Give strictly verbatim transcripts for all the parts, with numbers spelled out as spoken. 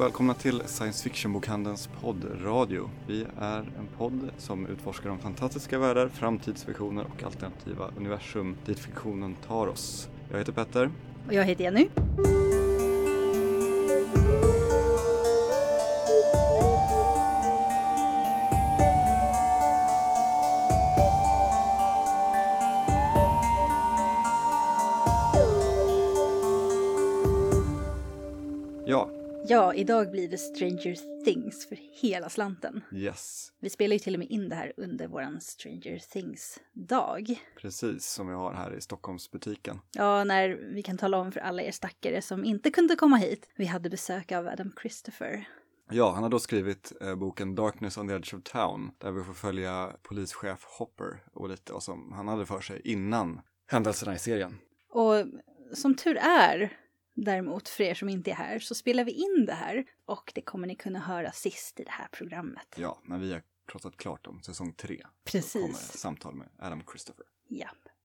Välkomna till Science Fiction-bokhandelns poddradio. Vi är en podd som utforskar de fantastiska världar, framtidsvisioner och alternativa universum dit fiktionen tar oss. Jag heter Petter. Och jag heter Jenny. Ja. Ja, idag blir det Stranger Things för hela slanten. Yes. Vi spelar ju till och med in det här under våran Stranger Things-dag. Precis, som vi har här i Stockholmsbutiken. Ja, när vi kan tala om för alla er stackare som inte kunde komma hit. Vi hade besök av Adam Christopher. Ja, han har då skrivit eh, boken Darkness on the Edge of Town. Där vi får följa polischef Hopper och lite vad som han hade för sig innan händelserna i serien. Och som tur är... Däremot, för er som inte är här, så spelar vi in det här. Och det kommer ni kunna höra sist i det här programmet. Ja, när vi har pratat klart om säsong tre. Precis. Så kommer samtal med Adam Christopher. Ja.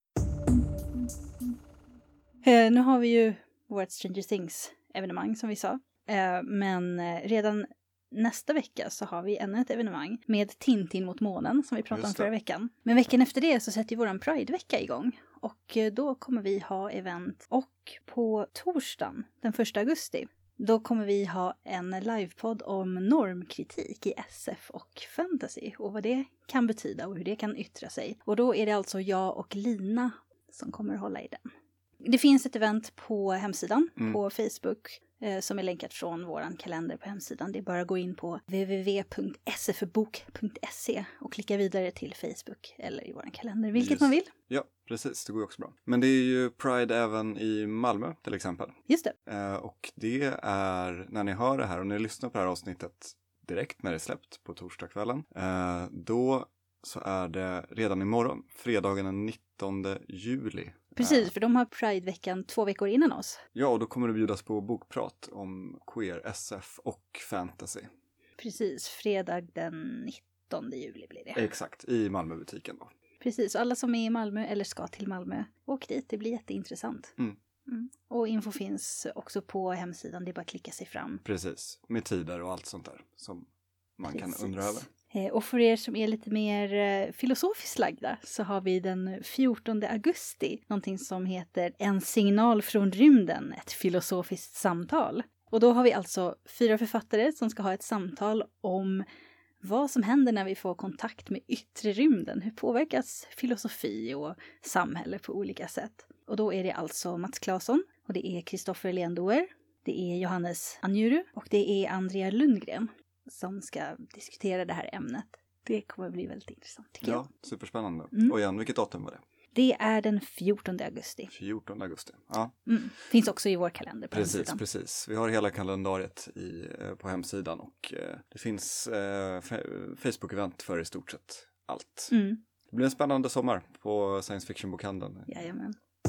Eh, nu har vi ju vårt Stranger Things-evenemang som vi sa. Eh, men redan nästa vecka så har vi ännu ett evenemang med Tintin mot månen som vi pratade om förra veckan. Men veckan efter det så sätter våran Pride-vecka igång. Och då kommer vi ha event. Och på torsdagen, den första augusti, då kommer vi ha en livepodd om normkritik i S F och fantasy. Och vad det kan betyda och hur det kan yttra sig. Och då är det alltså jag och Lina som kommer hålla i den. Det finns ett event på hemsidan, mm. på Facebook, eh, som är länkat från våran kalender på hemsidan. Det är bara att gå in på w w w punkt s f bok punkt se och klicka vidare till Facebook eller i våran kalender, vilket Just. man vill. Ja, precis. Det går ju också bra. Men det är ju Pride även i Malmö till exempel. Just det. Eh, och det är, när ni hör det här och ni lyssnar på det här avsnittet direkt när det är släppt på torsdagskvällen, eh, då så är det redan imorgon, fredagen den nittonde juli. Precis, för de har Pride-veckan två veckor innan oss. Ja, och då kommer det bjudas på bokprat om queer, S F och fantasy. Precis, fredag den nittonde juli blir det. Exakt, i Malmöbutiken då. Precis, alla som är i Malmö eller ska till Malmö, åk dit, det blir jätteintressant. Mm. Mm. Och info finns också på hemsidan, det är bara att klicka sig fram. Precis, med tider och allt sånt där som man Precis. kan undra över. Och för er som är lite mer eh, filosofiskt lagda så har vi den fjortonde augusti någonting som heter En signal från rymden, ett filosofiskt samtal. Och då har vi alltså fyra författare som ska ha ett samtal om vad som händer när vi får kontakt med yttre rymden. Hur påverkas filosofi och samhälle på olika sätt? Och då är det alltså Mats Claesson och det är Kristoffer Lendoer, det är Johannes Anjuru och det är Andrea Lundgren som ska diskutera det här ämnet. Det kommer bli väldigt intressant tycker jag. Ja, superspännande. Mm. Och igen, vilket datum var det? Det är den fjortonde augusti. fjortonde augusti, ja. Mm. Finns också i vår kalender på Precis, hemsidan. precis. Vi har hela kalendariet i, på hemsidan och eh, det finns eh, Facebook-event för i stort sett allt. Mm. Det blir en spännande sommar på Science Fiction-bokhandeln. Jajamän.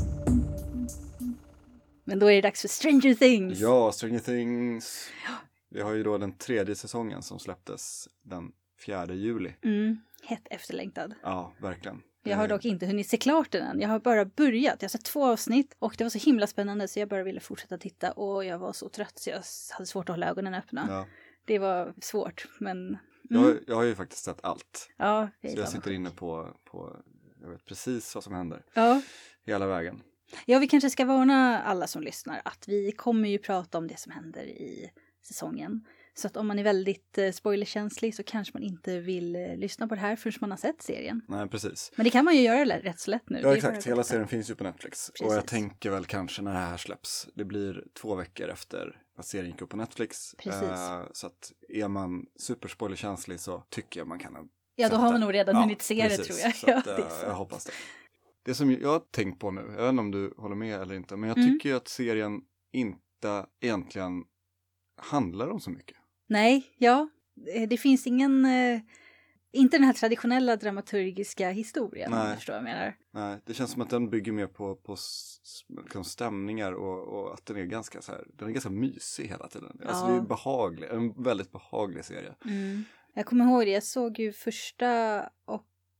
Men då är det dags för Stranger Things. Ja, Stranger Things. Ja. Vi har ju då den tredje säsongen som släpptes den fjärde juli. Mm, hett efterlängtad. Ja, verkligen. Jag har dock inte hunnit se klart den än. Jag har bara börjat. Jag har sett två avsnitt och det var så himla spännande så jag bara ville fortsätta titta. Och jag var så trött så jag hade svårt att hålla ögonen öppna. Ja. Det var svårt, men... Mm. Jag, har, jag har ju faktiskt sett allt. Ja, jag så jag sitter inne på, på... Jag vet precis vad som händer. Ja. Hela vägen. Ja, vi kanske ska varna alla som lyssnar att vi kommer ju prata om det som händer i säsongen. Så att om man är väldigt eh, spoilerkänslig så kanske man inte vill eh, lyssna på det här förrän man har sett serien. Nej, precis. Men det kan man ju göra rätt så lätt nu. Ja, exakt. Hela serien finns ju på Netflix. Precis. Och jag tänker väl kanske när det här släpps. Det blir två veckor efter att serien gick upp på Netflix. Precis. Uh, så att är man superspoilerkänslig så tycker jag man kan... Ja, då har man nog redan ja, hunnit se precis. det tror jag. Så att, ja, uh, jag hoppas det. Det som jag har tänkt på nu, jag vet inte om du håller med eller inte. Men jag mm. tycker ju att serien inte egentligen handlar om så mycket. Nej, ja. Det finns ingen... Eh, inte den här traditionella dramaturgiska historien. Nej. Om du förstår vad jag menar. Nej, det känns som att den bygger mer på, på liksom stämningar och, och att den är ganska så här, den är ganska mysig hela tiden. Ja. Alltså det är behaglig, en väldigt behaglig serie. Mm. Jag kommer ihåg det, jag såg ju första och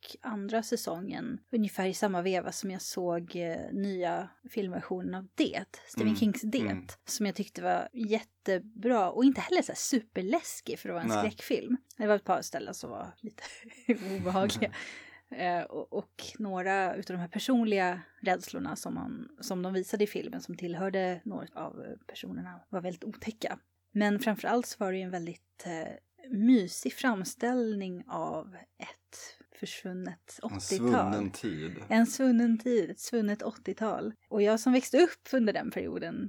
andra säsongen, ungefär i samma veva som jag såg eh, nya filmversionen av Det, Stephen Mm. Kings Det, Mm. som jag tyckte var jättebra och inte heller så här superläskig för att vara en Nej. skräckfilm. Det var ett par ställen som var lite obehagliga. Eh, och, och några utav de här personliga rädslorna som, man, som de visade i filmen som tillhörde några av personerna var väldigt otäcka. Men framförallt så var det ju en väldigt eh, mysig framställning av ett försvunnet En åttiotal. svunnen tid. En svunnen tid, ett svunnet åttiotal. Och jag som växte upp under den perioden,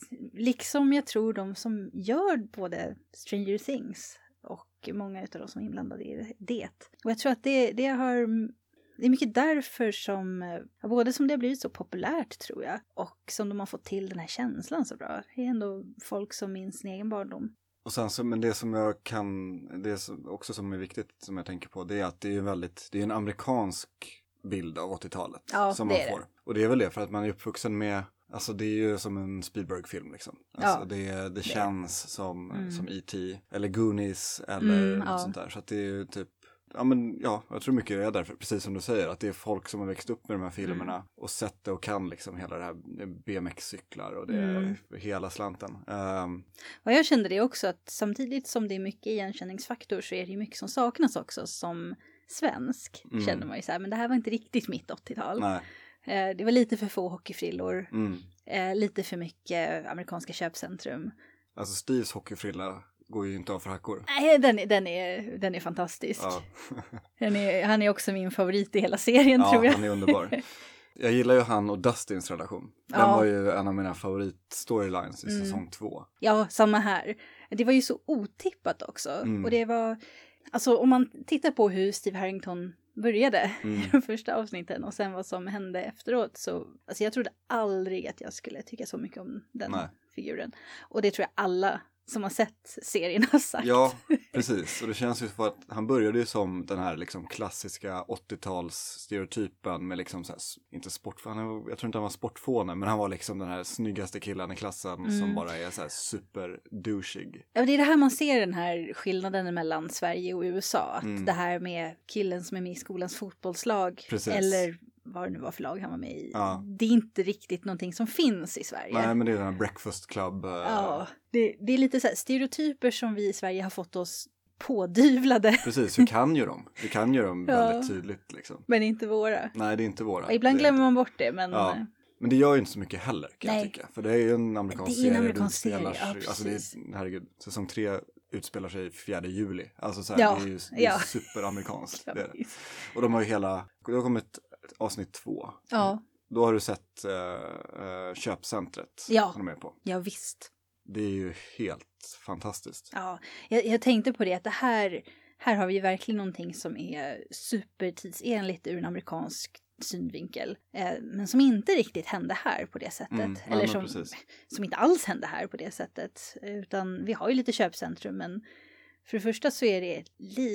liksom jag tror de som gör både Stranger Things och många av de som är inblandade i det. Och jag tror att det, det har... Det är mycket därför som, både som det har blivit så populärt tror jag, och som de har fått till den här känslan så bra. Det är ändå folk som minns sin egen barndom. Och sen så, men det som jag kan, det som också som är viktigt som jag tänker på, det är att det är väldigt, det är en amerikansk bild av åttiotalet Ja, som det man är får. det. Och det är väl det för att man är uppvuxen med, alltså det är ju som en Spielberg-film liksom. Alltså Ja, det, det, det känns som, Mm. som E T eller Goonies eller Mm, något ja. sånt där. Så att det är ju typ, ja men ja, jag tror mycket det är därför, precis som du säger, att det är folk som har växt upp med de här filmerna Mm. och sett det och kan liksom hela det här B M X-cyklar och det Mm. hela slanten. Um, Och jag kände det också att samtidigt som det är mycket igenkänningsfaktor så är det ju mycket som saknas också som svensk. Mm. Känner man ju så här, men det här var inte riktigt mitt åttiotal. nej. Eh, det var lite för få hockeyfrillor, Mm. eh, lite för mycket amerikanska köpcentrum. Alltså Steves hockeyfrilla går ju inte av för hackor. Nej, den, är- den, är, den är fantastisk. Ja, Den är, han är också min favorit i hela serien ja tror jag. han är underbar. Jag gillar ju han och Dustins relation. Den Ja. var ju en av mina favoritstorylines i Mm. säsong två. Ja, samma här. Det var ju så otippat också. Mm. Och det var, alltså om man tittar på hur Steve Harrington började Mm. i de första avsnitten och sen vad som hände efteråt så, alltså jag trodde aldrig att jag skulle tycka så mycket om den Nej. figuren. Och det tror jag alla som har sett serien har sagt. Ja, precis. Och det känns ju för att han började ju som den här liksom klassiska åttio-tals-stereotypen med liksom så här, inte sport, han var, jag tror inte han var sportfåne, men han var liksom den här snyggaste killen i klassen Mm. som bara är så här super douchig. Ja, det är det här man ser den här skillnaden mellan Sverige och U S A. Att Mm. det här med killen som är med i skolans fotbollslag Precis. eller vad det nu var för lag han var med i. Ja. Det är inte riktigt någonting som finns i Sverige. Nej, men det är den här breakfast club. eh, Ja, det, det är lite så här stereotyper som vi i Sverige har fått oss pådyvlade. Precis, hur kan ju de? Det kan ju de Ja. väldigt tydligt liksom. Men inte våra. Nej, det är inte våra. Och ibland Det är glömmer inte- man bort det, men Ja. eh, Men det gör ju inte så mycket heller kan Nej. jag tycka. För det är ju en amerikansk Det är en serie. amerikansk serie, utspelar ja, sig- alltså det precis. är, herregud, säsong tre utspelar sig fjärde juli. Alltså så här, Ja, det är ju det är ja. superamerikanskt. ja, Det är det. visst. Och de har ju hela, det har kommit avsnitt två. Ja, Då har du sett uh, uh, köpcentret Ja. som de är på. ja visst. Det är ju helt fantastiskt. Ja, jag, jag tänkte på det att det här, här har vi ju verkligen någonting som är supertidsenligt ur en amerikansk synvinkel. Eh, men som inte riktigt hände här på det sättet. Mm, nej, Eller men som, precis. som inte alls hände här på det sättet. Utan vi har ju lite köpcentrum, men för det första så är det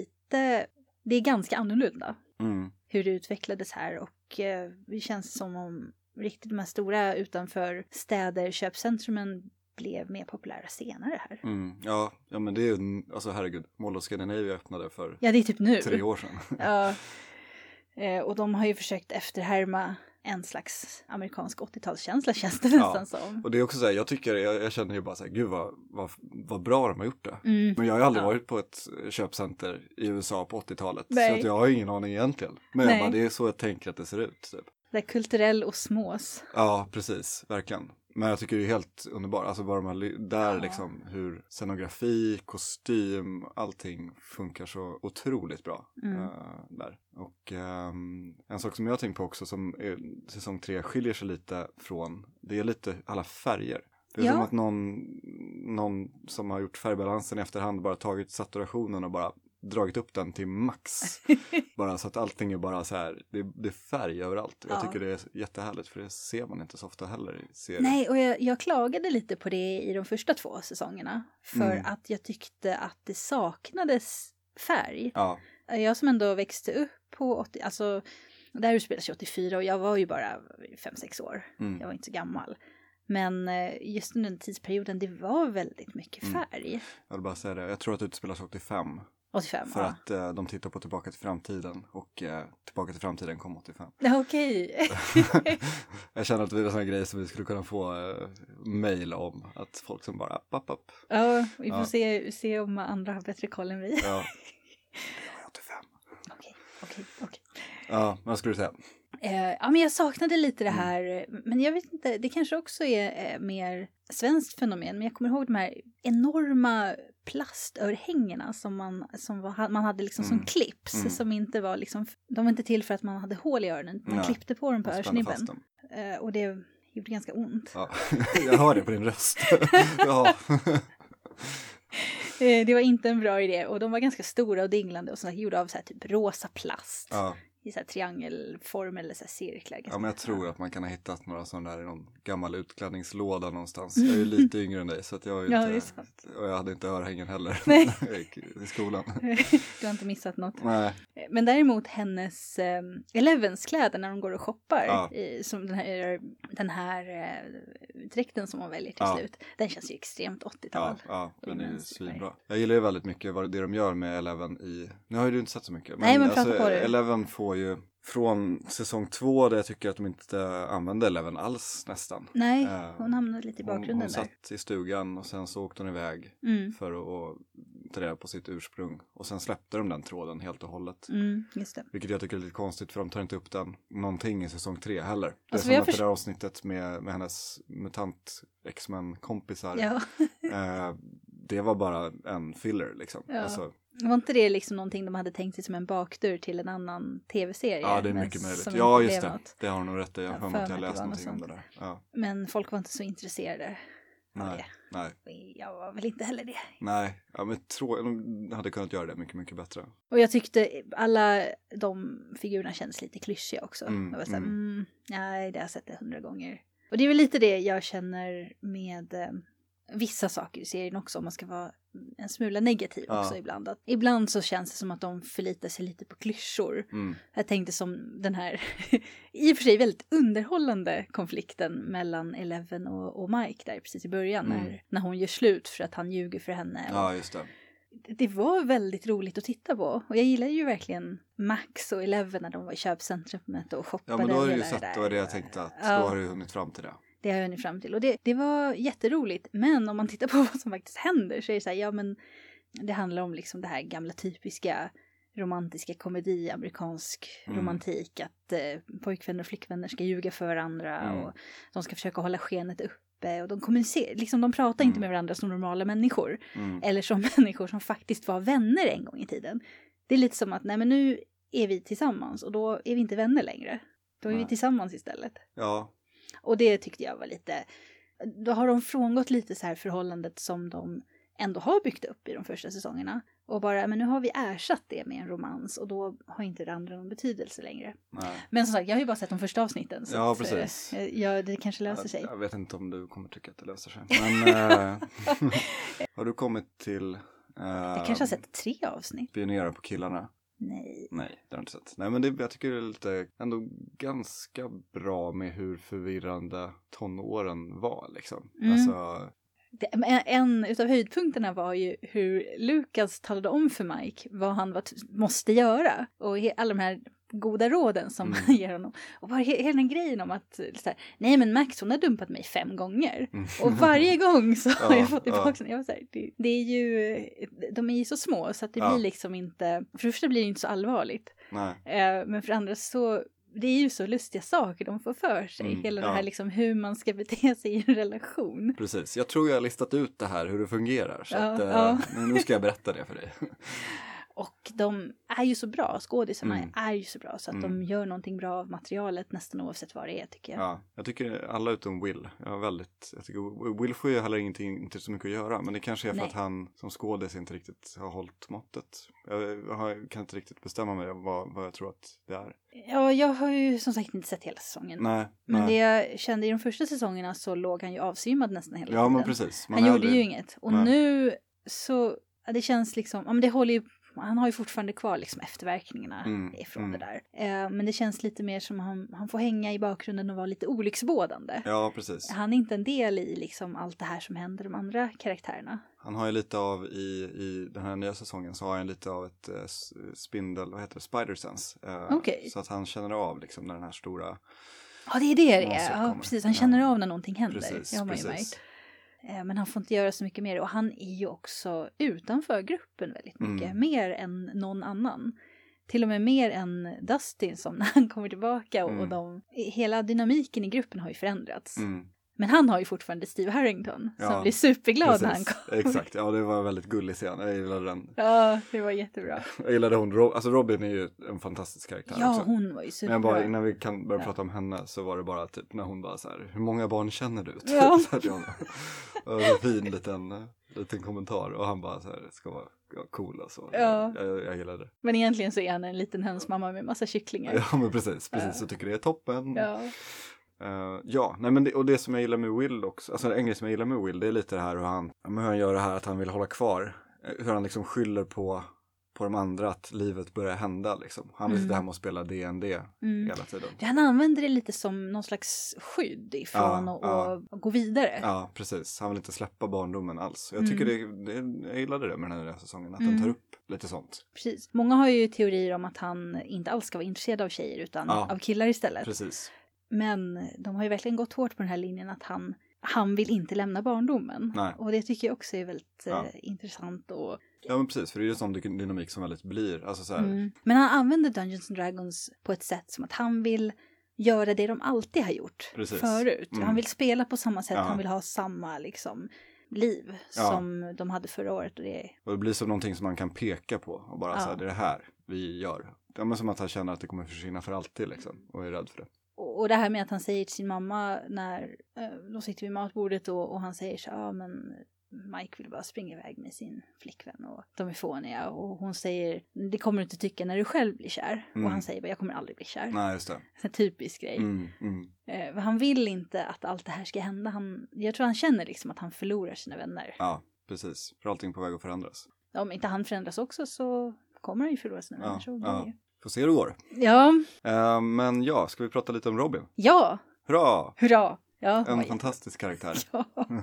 lite, det är ganska annorlunda Mm. hur det utvecklades här. Och eh, det känns som om riktigt de här stora utanför städer, köpcentrumen blev mer populära senare här. Mm. Ja, ja, men det är ju, en- alltså herregud, Mall of Scandinavia öppnade för Ja, det är typ nu. tre år sedan. Ja, eh, och de har ju försökt efterhärma en slags amerikansk åttiotalskänsla känns det nästan som. Och det är också så här, jag tycker, jag, jag känner ju bara så här, gud vad, vad, vad bra de har gjort det. Mm. Men jag har ju aldrig Ja. varit på ett köpcenter i U S A på åttiotalet. Nej. Så att jag har ju ingen aning egentligen. Men Nej. jag bara, det är så jag tänker att det ser ut. Typ. Det är kulturell osmos. Ja, precis, verkligen. Men jag tycker det är helt underbart, alltså bara de här, ly- där Ja. liksom hur scenografi, kostym, allting funkar så otroligt bra Mm. eh, där. Och ehm, en sak som jag har tänkt på också som är, säsong tre skiljer sig lite från, det är lite alla färger. Det är Ja. som att någon, någon som har gjort färgbalansen i efterhand bara tagit saturationen och bara dragit upp den till max. Bara så att allting är bara så här, det, det är färg överallt. Jag Ja. tycker det är jättehärligt för det ser man inte så ofta heller i serier. Nej, och jag, jag klagade lite på det i de första två säsongerna. För Mm. att jag tyckte att det saknades färg. Ja, Jag som ändå växte upp på åttio, alltså det här utspelas ju åttiofyra och jag var ju bara fem sex år. mm. Jag var inte så gammal. Men eh, just under den tidsperioden, det var väldigt mycket Mm. färg. jag vill bara säga det. Jag tror att det utspelas åttiofem. åttiofem, För ja. att eh, de tittar på Tillbaka till framtiden och eh, Tillbaka till framtiden kom åttiofem. Ja, okej. Jag känner att det är en sån här grej som vi skulle kunna få eh, mejl om. Att folk som bara app, app, app. Ja, vi får Ja. se, se om andra har bättre koll än vi. Ja, det var åttiofem. Okej, okej, okej. Ja, vad skulle du säga? Eh, ja, men jag saknade lite det Mm. här, men jag vet inte, det kanske också är eh, mer svenskt fenomen, men jag kommer ihåg de här enorma plastörhängena som man, som var, man hade liksom Mm. som clips, Mm. som inte var liksom, de var inte till för att man hade hål i öronen, man Nej. klippte på dem på Jag spände fast örsnibben. dem. Eh, och det gjorde ganska ont. Ja, jag hör det på din röst. Ja. Eh, det var inte en bra idé, och de var ganska stora och dinglande och sådär, gjorda av så här typ rosa plast. Ja. I så här triangelform eller så här cirklar. Ja, men jag tror att man kan ha hittat några sådana där i någon gammal utklädningslåda någonstans. Jag är ju lite yngre än dig så att jag är Ja, inte, det är sant. och jag hade inte örhängen heller Nej. i skolan. Du har inte missat något. Nej, Men däremot hennes eh, Elevens kläder när de går och shoppar, Ja. i, som den här, den här eh, dräkten som hon väljer till Ja. slut, den känns ju extremt åttiotal. ja, ja, den är ju Immense svinbra. Jag gillar ju väldigt mycket vad det de gör med Eleven i, nu har ju du inte sett så mycket. Nej, men prata på det. Eleven får ju från säsong två där jag tycker att de inte använde Eleven alls nästan. Nej, Eh, hon hamnade lite i Hon, bakgrunden hon där. satt i stugan och sen så åkte hon iväg Mm, för att, att ta reda på sitt ursprung. Och sen släppte de den tråden helt och hållet. mm, just det. Vilket jag tycker är lite konstigt för de tar inte upp den någonting i säsong tre heller. Det är Alltså, som jag att det först- där avsnittet med, med hennes mutant X-Men-kompisar. Ja. Eh, det var bara en filler liksom. Ja. Alltså, Var inte det liksom någonting de hade tänkt sig som en bakdörr till en annan tv-serie? ja, det är men mycket möjligt. som Ja, inte just blev det. något? Det har hon nog rätt i. Jag Jag har för mig att för jag mig att läst det var någonting om något det där. Ja. Men folk var inte så intresserade av Nej, det. nej, Jag var väl inte heller det. nej. Ja, men tror, de hade kunnat göra det mycket, mycket bättre. Och jag tyckte alla de figurerna kändes lite klyschiga också. Mm, jag var såhär, mm. mm, nej, det har jag sett det hundra gånger. Och det är väl lite det jag känner med eh, vissa saker i serien också, om man ska vara en smula negativ Ja. också ibland. Att ibland så känns det som att de förlitar sig lite på klyschor. Mm. Jag tänkte som den här, i och för sig väldigt underhållande konflikten mellan Eleven och, och Mike där precis i början. Mm. När, när hon gör slut för att han ljuger för henne. Och Ja, just det. det var väldigt roligt att titta på. Och jag gillar ju verkligen Max och Eleven när de var i köpcentrumet och shoppade. Ja, men då har du ju hela sett, det det var det jag tänkte att Ja. då har du hunnit fram till det. Det har jag hunnit fram till. Och det, det var jätteroligt. Men om man tittar på vad som faktiskt händer så är det så här, ja men det handlar om liksom det här gamla typiska romantiska komedi, amerikansk Mm. romantik. Att eh, pojkvänner och flickvänner ska ljuga för varandra Mm. och de ska försöka hålla skenet uppe. Och de kommunicerar, liksom de pratar inte Mm. med varandra som normala människor. Mm. Eller som människor som faktiskt var vänner en gång i tiden. Det är lite som att, nej men nu är vi tillsammans och då är vi inte vänner längre. Då är Nej. vi tillsammans istället. Ja, Och det tyckte jag var lite, då har de frångått lite så här förhållandet som de ändå har byggt upp i de första säsongerna. Och bara, men nu har vi ersatt det med en romans och då har inte det andra någon betydelse längre. nej. Men som sagt, jag har ju bara sett de första avsnitten. Så Ja, att, precis. eh, Ja, det kanske löser sig. Jag, jag vet inte om du kommer tycka att det löser sig. Men äh, har du kommit till äh, Jag kanske har sett tre avsnitt. Spionera på killarna? Nej. Nej, det har jag inte sett. Nej, men det, jag tycker det är lite ändå ganska bra med hur förvirrande tonåren var liksom. Mm. Alltså, Det, men en utav höjdpunkterna var ju hur Lukas talade om för Mike vad han var t- måste göra. Och he, alla de här goda råden som Mm. han ger honom. Och bara he, hela den grejen om att så här, nej men Max hon har dumpat mig fem gånger. mm. Och varje gång så har Ja, jag fått tillbaka ja. den. Jag var så här, det, det är ju, de är ju så små så att det Ja. blir liksom inte, för det första blir det inte så allvarligt. Nej. Eh, men för det andra så, det är ju så lustiga saker de får för sig. Mm, Hela ja. det här liksom hur man ska bete sig i en relation. Precis, jag tror jag har listat ut det här hur det fungerar. Så Ja, att, äh, ja. nu ska jag berätta det för dig. Och de är ju så bra, skådisarna Mm. är ju så bra så att Mm. de gör någonting bra av materialet nästan oavsett vad det är tycker jag. Ja, jag tycker alla utom Will. Jag har väldigt, jag tycker Will får ju heller ingenting, inte så mycket att göra. Men det kanske är för Nej. att han som skådis inte riktigt har hållit måttet. Jag, har, kan inte riktigt bestämma mig vad, vad jag tror att det är. Ja, jag har ju som sagt inte sett hela säsongen. Nej, Men nej. det jag kände i de första säsongerna så låg han ju avsvimmad nästan hela Ja, tiden. men precis. Man Han är gjorde aldrig- ju inget. Och Nej. nu så, ja, det känns liksom, ja men det håller ju han har ju fortfarande kvar liksom efterverkningarna Mm, ifrån mm. det där. Eh, men det känns lite mer som han, han får hänga i bakgrunden och vara lite olycksbådande. Ja, precis. Han är inte en del i liksom allt det här som händer de andra karaktärerna. Han har ju lite av i, i den här nya säsongen så har han lite av ett eh, spindel, vad heter det, spider sense. Eh, Okej. Så att han känner av liksom när den här stora... Ja, det är det det är. monstret Ja, kommer. precis. Han känner Ja. av när någonting händer. Precis, det har man ju precis. märkt. Eh, Men han får inte göra så mycket mer. Och han är ju också utanför gruppen väldigt mycket. Mm. Mer än någon annan. Till och med mer än Dustin som när han kommer tillbaka. Och, Mm. och de, hela dynamiken i gruppen har ju förändrats. Mm. Men han har ju fortfarande Steve Harrington. Som Ja, blir superglad när han Precis, kommer. exakt. Ja, det var en väldigt gullig scen. Jag gillade den. Ja, det var jättebra. Jag gillade hon. Ro- alltså Robin är ju en fantastisk karaktär Ja, också. hon var ju Men superbra. jag bara, innan vi kan börja Ja. prata om henne så var det bara typ när hon bara så här, hur många barn känner du? Ja. Så här till honom. Och en fin liten, liten kommentar och han bara så här, ska vara ja, cool alltså. Ja. Jag, jag gillade det. Men egentligen så är han en liten hönsmamma med massa kycklingar. Ja, men precis, precis. Ja. Så tycker det är toppen. Ja. Uh, ja, nej men det, och det som jag gillar med Will också, alltså en grej som jag gillar med Will, det är lite det här hur han, hur han gör det här att han vill hålla kvar, eh, hur han liksom skyller på, på de andra att livet börjar hända liksom. Han vill Mm. sitta hemma och spela D and D Mm. hela tiden. Han använder det lite som någon slags skydd ifrån Ja, och, ja. och gå vidare. Ja, precis. Han vill inte släppa barndomen alls. Jag Mm. tycker det, det, jag gillade det med den här nya säsongen, att Mm. den tar upp lite sånt. Precis. Många har ju teorier om att han inte alls ska vara intresserad av tjejer utan Ja. av killar istället. Precis. Men de har ju verkligen gått hårt på den här linjen att han, han vill inte lämna barndomen. Nej. Och det tycker jag också är väldigt Ja. eh, intressant. Och, Ja, men precis, för det är ju en sån dy- dynamik som väldigt blir, alltså så här, mm. Men han använder Dungeons and Dragons på ett sätt som att han vill göra det de alltid har gjort Precis. förut. Mm. Han vill spela på samma sätt, Ja. han vill ha samma liksom liv Ja. som de hade förra året. Och det, och det blir som någonting som man kan peka på och bara Ja. så här, det är det här vi gör. Det är som att han känner att det kommer försvinna för alltid liksom, och är rädd för det. och, och det här med att han säger till sin mamma när eh, de sitter vid matbordet och, och han säger så ja men Mike vill bara springa iväg med sin flickvän och de är fåniga och hon säger det kommer du inte tycka när du själv blir kär. Mm. Och han säger bara jag kommer aldrig bli kär. Nej, just det. En typisk grej. Mm, mm. Eh, han vill inte att allt det här ska hända. Han, jag tror han känner liksom att han förlorar sina vänner. Ja, precis. För allting är på väg att förändras. Om inte han förändras också så kommer han ju förlora sina Ja, vänner. Så ja. ja. Får se hur det går. Ja. Eh, men ja, ska vi prata lite om Robin? Ja. Hurra! Hurra. Ja, En oj. fantastisk karaktär. Ja.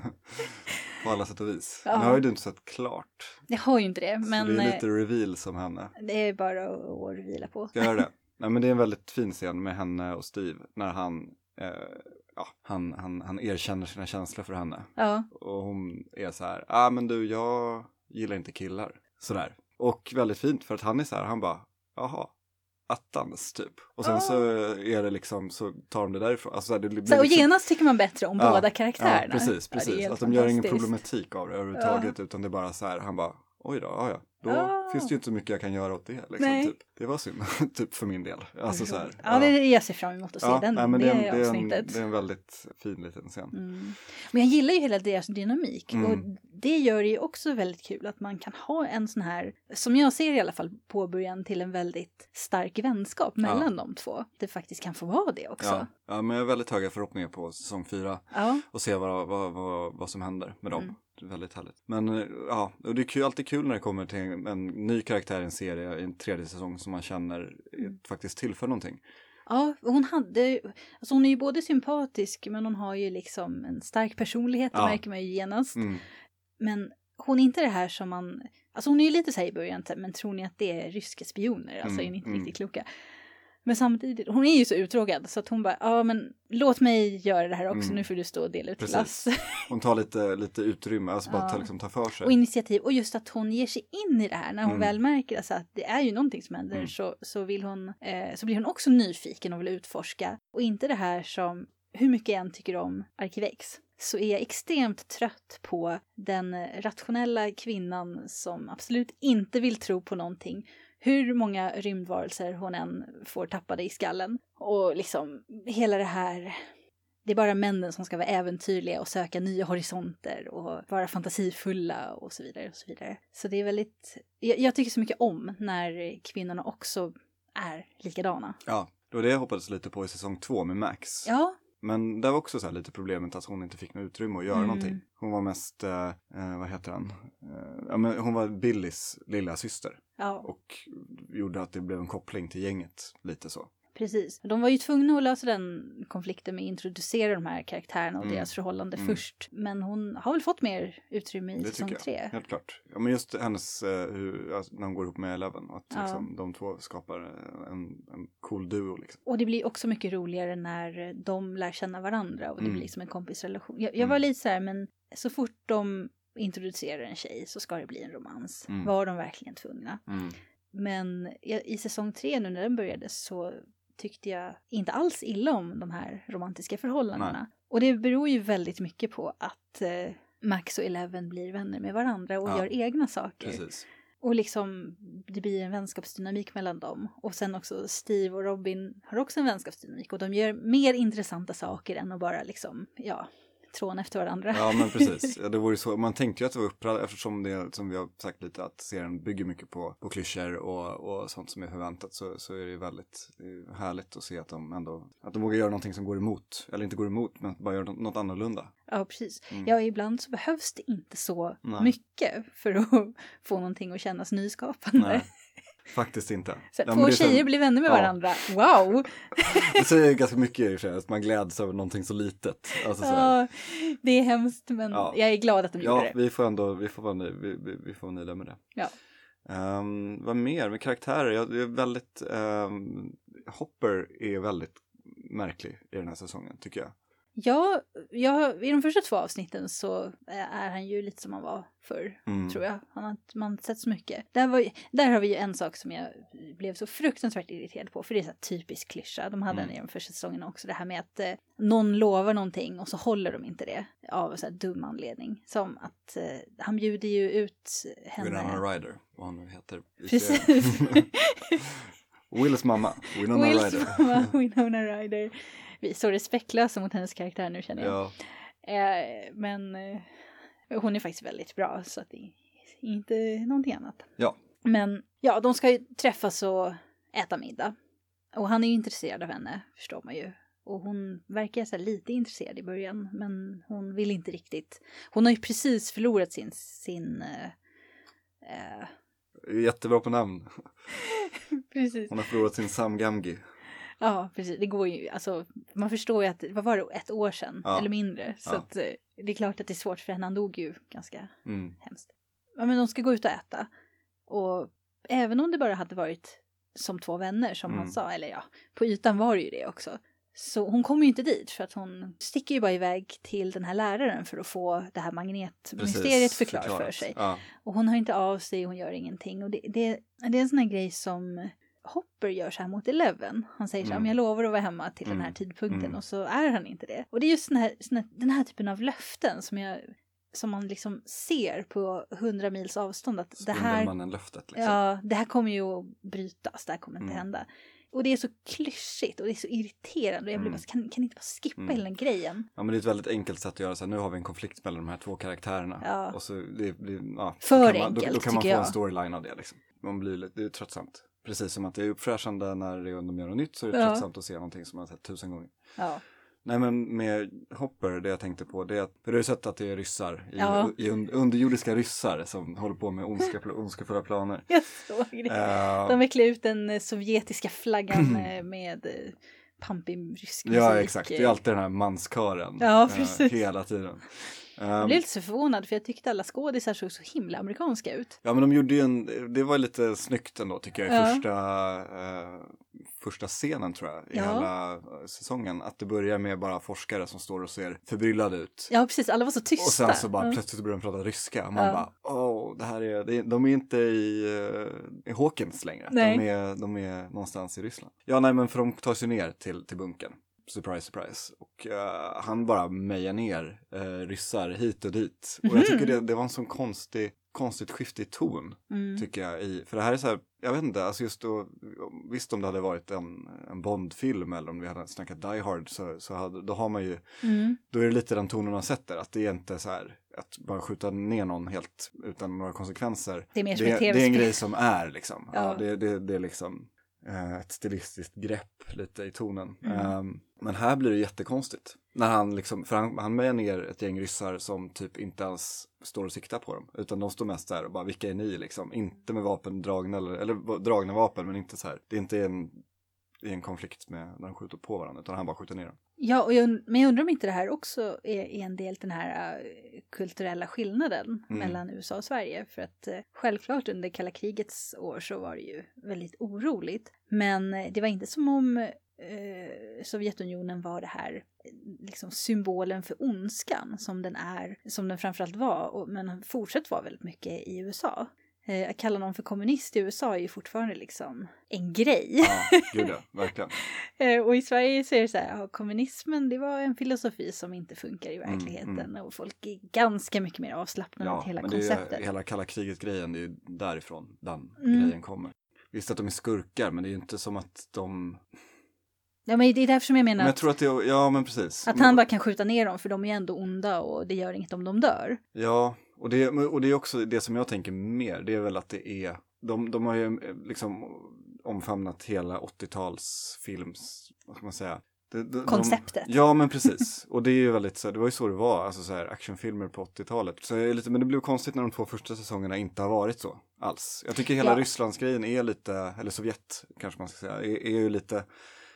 På alla sätt och vis. Ja. Nu har ju du inte sett klart. Jag har ju inte det. Men så det är eh, lite reveal som henne. det är bara att, att vila på. Ska jag göra det? Nej, men det är en väldigt fin scen med henne och Steve. När han, eh, ja, han, han, han erkänner sina känslor för henne. Ja. Och hon är så här, ah men du, jag gillar inte killar. Sådär. Och väldigt fint för att han är så här, han bara, jaha, attans typ. Och sen Ah. så är det liksom, så tar de det därifrån. Alltså, så här, det blir Så, och liksom, genast tycker man bättre om Ja, båda karaktärerna. ja, precis, Ja, det är precis. helt att de gör ingen fantastiskt. problematik av det överhuvudtaget. Utan det är bara så här, han bara, oj då, ja ja. Då Ah. finns det ju inte så mycket jag kan göra åt det. Liksom, Nej. typ. Det var synd, typ för min del. Alltså så här. Ja, det jag ser fram emot att se den, nej, men det, det, är en, det, är en, avsnittet. det är en väldigt fin liten scen. Mm. Men jag gillar ju hela deras dynamik. Mm. Och det gör det ju också väldigt kul att man kan ha en sån här, som jag ser i alla fall, påbörjan till en väldigt stark vänskap mellan de två. Det faktiskt kan få vara det också. Ja, ja, men jag har väldigt höga förhoppningar på säsong fyra. Ja. Och se vad, vad, vad, vad som händer med dem. Mm. Det är väldigt härligt. Men eh, ja, och det är kul, alltid kul när det kommer till en, en ny karaktär i en serie i en tredje säsong som man känner Mm. faktiskt tillför någonting. Ja, hon hade, alltså hon är ju både sympatisk men hon har ju liksom en stark personlighet, det Ja. märker man ju genast. Mm. Men hon är inte det här som man, alltså hon är ju lite så här i början, men tror ni att det är ryska spioner? Alltså Mm, är ni inte mm. riktigt kloka. Men samtidigt, hon är ju så uttråkad så att hon bara, ja men låt mig göra det här också, Mm. nu får du stå och dela ut Precis. glass. Hon tar lite, lite utrymme, alltså bara Ja. ta, liksom, ta för sig. Och initiativ, och just att hon ger sig in i det här, när hon Mm. väl märker alltså att det är ju någonting som händer Mm. så, så vill hon, eh, så blir hon också nyfiken och vill utforska. Och inte det här som, hur mycket jag än tycker om Arkivex, så är jag extremt trött på den rationella kvinnan som absolut inte vill tro på någonting. Hur många rymdvarelser hon än får tappade i skallen. Och liksom hela det här, det är bara männen som ska vara äventyrliga och söka nya horisonter och vara fantasifulla och så vidare och så vidare. Så det är väldigt, jag, jag tycker så mycket om när kvinnorna också är likadana. Ja, det var det jag hoppades lite på i säsong två med Max. Ja, Men det var också så här lite problemet att hon inte fick något utrymme att göra Mm. någonting. Hon var mest, eh, eh, vad heter han? Eh, ja, men hon var Billys lilla syster. Ja, Och gjorde att det blev en koppling till gänget lite så. precis. De var ju tvungna att lösa den konflikten med att introducera de här karaktärerna och Mm. deras förhållande Mm. först. Men hon har väl fått mer utrymme i Det säsong tycker tre. jag, helt klart. Ja, men just hennes, eh, hur, alltså, när hon går ihop med Eleven. Att Ja. liksom, de två skapar en, en cool duo liksom. Och det blir också mycket roligare när de lär känna varandra och det Mm. blir som en kompisrelation. Jag, jag Mm. var lite så här, men så fort de introducerar en tjej så ska det bli en romans. Mm. Var de verkligen tvungna? Mm. Men i, i säsong tre nu när den började så tyckte jag inte alls illa om de här romantiska förhållandena. Nej. Och det beror ju väldigt mycket på att eh, Max och Eleven blir vänner med varandra och Ja. gör egna saker. Precis. Och liksom det blir en vänskapsdynamik mellan dem. Och sen också Steve och Robin har också en vänskapsdynamik. Och de gör mer intressanta saker än att bara liksom, ja, tråna efter varandra. Ja, men precis. Ja, det vore så. Man tänkte ju att det var upprörd eftersom det, som vi har sagt lite, att serien bygger mycket på, på klyschor och, och sånt som är förväntat, så, så är det ju väldigt det är härligt att se att de ändå, att de vågar göra någonting som går emot, eller inte går emot, men bara gör något annorlunda. Ja, precis. Mm. Ja, ibland så behövs det inte så Nej. mycket för att få någonting att kännas nyskapande. Nej, faktiskt inte. Så Ja, men två det är så- tjejer blir vänner med ja. varandra. Wow! Det säger ganska mycket i och för sig, att man gläds över någonting så litet. Alltså, så här. Ja, det är hemskt, men Ja. jag är glad att de gjorde Ja, det. vi får ändå, vi får vara nöjda, vi, vi, vi får vara nöjda med det. Ja. Um, vad mer med karaktärer? Jag, jag är väldigt, um, Hopper är väldigt märklig i den här säsongen, tycker jag. Ja, ja, i de första två avsnitten så är han ju lite som han var förr, Mm. tror jag. Han har man har sett så mycket. Där, var, ju- där har vi ju en sak som jag blev så fruktansvärt irriterad på, för det är så här typisk klyscha. De hade Mm. den i de första säsongerna också, det här med att eh, någon lovar någonting och så håller de inte det av så här dum anledning. Som att eh, han bjuder ju ut henne. Winona Ryder, vad hon nu heter. i Precis. serien. Wills mamma, Winona Wills Ryder. mamma, Winona Ryder. Vi är så respektlösa mot hennes karaktär nu, känner jag. Ja, Eh, men eh, hon är faktiskt väldigt bra, så att det är inte någonting annat. ja. Men ja, de ska ju träffas och äta middag. Och han är ju intresserad av henne, förstår man ju. Och hon verkar så här lite intresserad i början, men hon vill inte riktigt. Hon har ju precis förlorat sin... sin eh, eh, Jättebra på namn. precis. Hon har förlorat sin Sam Gamgee. Ja, precis. Det går ju, alltså, man förstår ju att, vad var det, ett år sedan, Ja. eller mindre. Så Ja. att, eh, det är klart att det är svårt för henne, han dog ju ganska Mm. hemskt. Ja, men de ska gå ut och äta. Och även om det bara hade varit som två vänner, som Mm. han sa, eller ja, på ytan var det ju det också. Så hon kommer ju inte dit, för att hon sticker ju bara iväg till den här läraren för att få det här magnetmysteriet förklarat för förklarat. sig. Ja. Och hon hör inte av sig, hon gör ingenting. Och det, det, det är en sån här grej som Hopper gör så här mot Eleven. Han säger så här, Mm. men jag lovar att vara hemma till Mm. den här tidpunkten. Mm. Och så är han inte det. Och det är just den här, sån här, den här typen av löften som jag som man liksom ser på hundra mils avstånd. Att det här, Spindelmannen-löftet liksom. ja, det här kommer ju att brytas, det här kommer inte Mm. hända. Och det är så klyschigt och det är så irriterande. Och jag blir Mm. bara, kan, kan ni inte bara skippa Mm. hela den grejen? Ja, men det är ett väldigt enkelt sätt att göra så här. Nu har vi en konflikt mellan de här två karaktärerna. Ja. Och så det blir, ja, För då kan man, enkelt, då, då kan man få tycker en jag. storyline av det liksom. Man blir lite, det är tröttsamt. Precis som att det är uppfräschande när det är de gör något nytt, så är det Ja. tröttsamt att se någonting som man har sett tusen gånger. Ja. Nej, men med Hopper, det jag tänkte på, det är att, för du har ju sett att det är ryssar, i, Ja. i un, underjordiska ryssar som håller på med ondska, ondskefulla planer. Jag såg det. Eh, De vecklar ut den eh, sovjetiska flaggan eh, med eh, pampig rysk musik. ja, exakt. Det är alltid den här manskören. Ja, eh, precis. hela tiden. Jag Um, blev lite så förvånad, för jag tyckte alla skådisar såg så himla amerikanska ut. Ja, men de gjorde ju en, det var lite snyggt ändå tycker jag i Ja. första, eh, första scenen tror jag i Ja. hela eh, säsongen. Att det börjar med bara forskare som står och ser förbryllade ut. Ja, precis. Alla var så tysta. Och sen så bara Ja. plötsligt börjar de prata ryska. Man Ja. bara, åh, det här är, det, de är inte i, uh, i Hawkins längre. Nej. De är, de är någonstans i Ryssland. Ja, nej, men för de tar sig ner till, till bunkern. Surprise, surprise. Och uh, han bara mejar ner uh, ryssar hit och dit. Och jag tycker det, det var en sån konstig, konstigt skifte i ton, Mm. tycker jag. I, för det här är så här, jag vet inte, alltså just då, visst om det hade varit en, en Bond-film eller om vi hade snackat Die Hard, så, så hade, då har man ju, Mm. då är det lite den tonen man sätter, att det är inte så här att bara skjuta ner någon helt utan några konsekvenser. Det är mer som det, ett det är en tv-spel. grej som är liksom. Ja. Ja. det, det, det är liksom eh, ett stilistiskt grepp lite i tonen. Mm. Um, Men här blir det jättekonstigt. När han liksom, för han, han med ner ett gäng ryssar som typ inte ens står och siktar på dem. Utan de står mest där och bara, vilka är ni liksom? Inte med vapen dragna, eller, eller dragna vapen, men inte så här. Det är inte en, i en konflikt med när de skjuter på varandra, utan han bara skjuter ner dem. Ja, och jag, men jag undrar om inte det här också är, är en del den här uh, kulturella skillnaden mm. mellan U S A och Sverige. För att uh, självklart under kalla krigets år så var det ju väldigt oroligt. Men uh, det var inte som om uh, Sovjetunionen var det här liksom symbolen för ondskan som den är, som den framförallt var, och, men fortsatt var väldigt mycket i U S A. Eh, att kalla någon för kommunist i U S A är ju fortfarande liksom en grej. Ja, gud ja, verkligen. eh, och i Sverige så är det så här, ja, kommunismen det var en filosofi som inte funkar i verkligheten. Mm, mm. Och folk är ganska mycket mer avslappnade ja, av hela men konceptet. Det är, hela kalla kriget-grejen, det är ju därifrån den mm. grejen kommer. Visst att de är skurkar, men det är ju inte som att de... Ja, men det är därför som jag menar men jag att, tror att det är, ja, men precis. att han bara kan skjuta ner dem, för de är ju ändå onda och det gör inget om de dör. Ja, och det, och det är också det som jag tänker mer, det är väl att det är, de, de har ju liksom omfamnat hela åttio-talsfilms, vad ska man säga? De, de, konceptet. De, ja, men precis. Och det är ju väldigt så, det var ju så det var, alltså så här actionfilmer på åttio-talet. Så jag är lite, men det blev konstigt när de två första säsongerna inte har varit så alls. Jag tycker hela ja. Rysslandsgrejen är lite, eller Sovjet kanske man ska säga, är, är ju lite,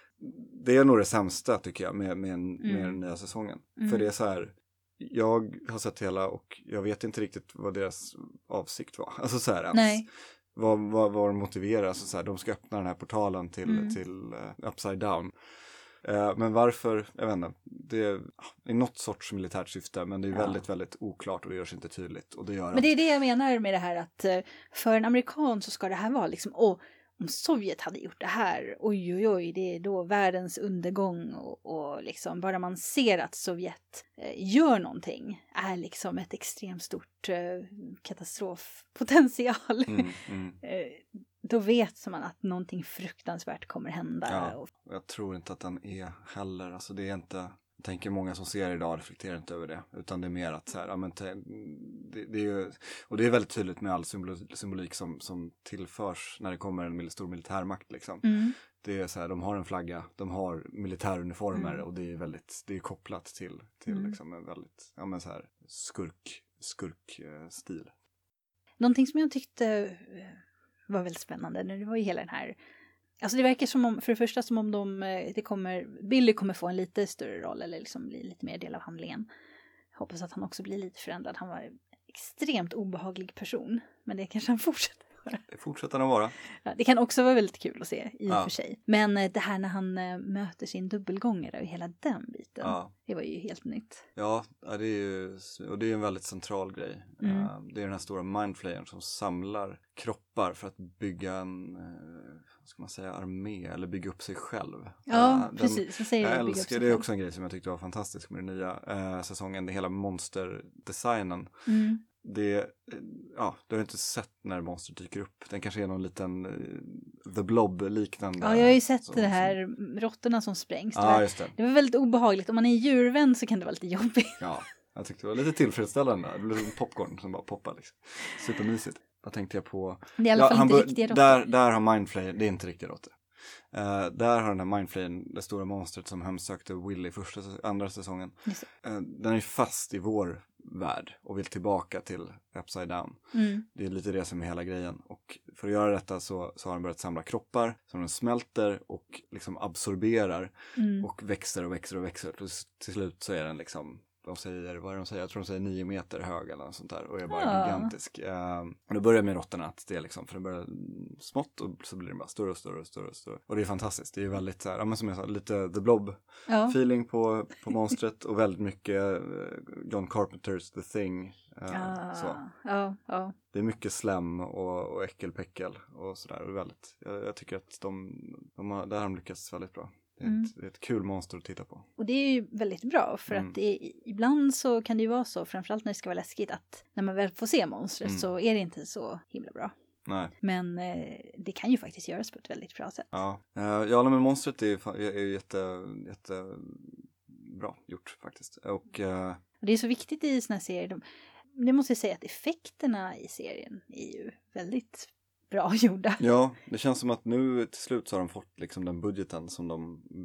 det är nog det sämsta tycker jag med, med, mm. med den nya säsongen. Mm. För det är så här, jag har sett hela och jag vet inte riktigt vad deras avsikt var. Alltså så här ens. Nej. Vad, vad, vad de motiverar. Alltså så här, de ska öppna den här portalen till, mm. till uh, Upside Down. Uh, men varför, jag vet inte. Det är, det är något sorts militärt syfte, men det är ja. väldigt, väldigt oklart och det görs inte tydligt. Och det gör men det är det jag menar med det här att för en amerikan så ska det här vara liksom, åh, om Sovjet hade gjort det här, oj oj oj, det är då världens undergång och, och liksom bara man ser att Sovjet eh, gör någonting är liksom ett extremt stort eh, katastrofpotential. Mm, mm. eh, då vet man att någonting fruktansvärt kommer hända. Ja, och jag tror inte att den är heller, alltså det är inte... Jag tänker många som ser idag reflekterar inte över det. Utan det är mer att så här, ja, men te, det, det är ju, och det är väldigt tydligt med all symbol, symbolik som, som tillförs när det kommer en stor militärmakt liksom. Mm. Det är så här, de har en flagga, de har militäruniformer mm. och det är väldigt, det är kopplat till, till mm. liksom en väldigt, ja men så här, skurk, skurk eh, stil. Någonting som jag tyckte var väldigt spännande, det var ju hela den här. Alltså det verkar som om, för det första som om de, det kommer, Billy kommer få en lite större roll eller liksom bli lite mer del av handlingen. Jag hoppas att han också blir lite förändrad. Han var en extremt obehaglig person, men det kanske han fortsätter vara. Det fortsätter han vara. Ja, det kan också vara väldigt kul att se i och ja. för sig. Men det här när han möter sin dubbelgångare och hela den biten, ja. det var ju helt nytt. Ja, det är ju, och det är en väldigt central grej. Mm. Det är den här stora mindflayern som samlar kroppar för att bygga en... ska man säga, armé eller bygga upp sig själv. Ja, den, precis. Så säger jag älskar, det är också en grej som jag tyckte var fantastisk med den nya eh, säsongen. Det hela monsterdesignen. Mm. Det, ja, du har inte sett när monster dyker upp. Den kanske är någon liten uh, The Blob-liknande. Ja, jag har ju sett så, det här så. Råttorna som sprängs. Det, ja, var, just det. det var väldigt obehagligt. Om man är djurvän så kan det vara lite jobbigt. Ja, jag tyckte det var lite tillfredsställande. Det blev popcorn som bara poppar liksom. Supermysigt. Vad tänkte jag på? Det är i alla ja, fall inte riktiga råttor. Där, där har Mindflayer, det är inte riktiga råttor. Uh, där har den här Mindflayern, det stora monstret som hemsökte Willy första, andra säsongen. Uh, den är fast i vår värld och vill tillbaka till Upside Down. Mm. Det är lite det som är hela grejen. Och för att göra detta så, så har den börjat samla kroppar som den smälter och liksom absorberar mm. och växer och växer och växer. Och till slut så är den liksom, de säger, vad är de säger? Jag tror de säger nio meter hög eller något sånt där. Och är bara ja. gigantisk. Uh, och det börjar med råttorna att det är liksom, för det börjar smått och så blir det bara större och större och större och större. Och det är fantastiskt. Det är väldigt så här, ja men som jag sa, lite The Blob-feeling ja. på, på monstret. Och väldigt mycket uh, John Carpenters The Thing. Uh, ja. Så. Ja, ja. Det är mycket slem och, och äckelpäckel och sådär. Och väldigt, jag, jag tycker att de, de har, där har de lyckats väldigt bra. Det är, mm. ett, det är ett kul monster att titta på. Och det är ju väldigt bra för mm. att det är, ibland så kan det ju vara så, framförallt när det ska vara läskigt, att när man väl får se monstret mm. så är det inte så himla bra. Nej. Men eh, det kan ju faktiskt göras på ett väldigt bra sätt. Ja, uh, ja men monstret är, är, är jätte, jätte bra gjort faktiskt. Och, uh... det är så viktigt i såna här serier. De, det måste jag säga att effekterna i serien är ju väldigt bra gjorda. Ja, det känns som att nu till slut så har de fått liksom den budgeten som de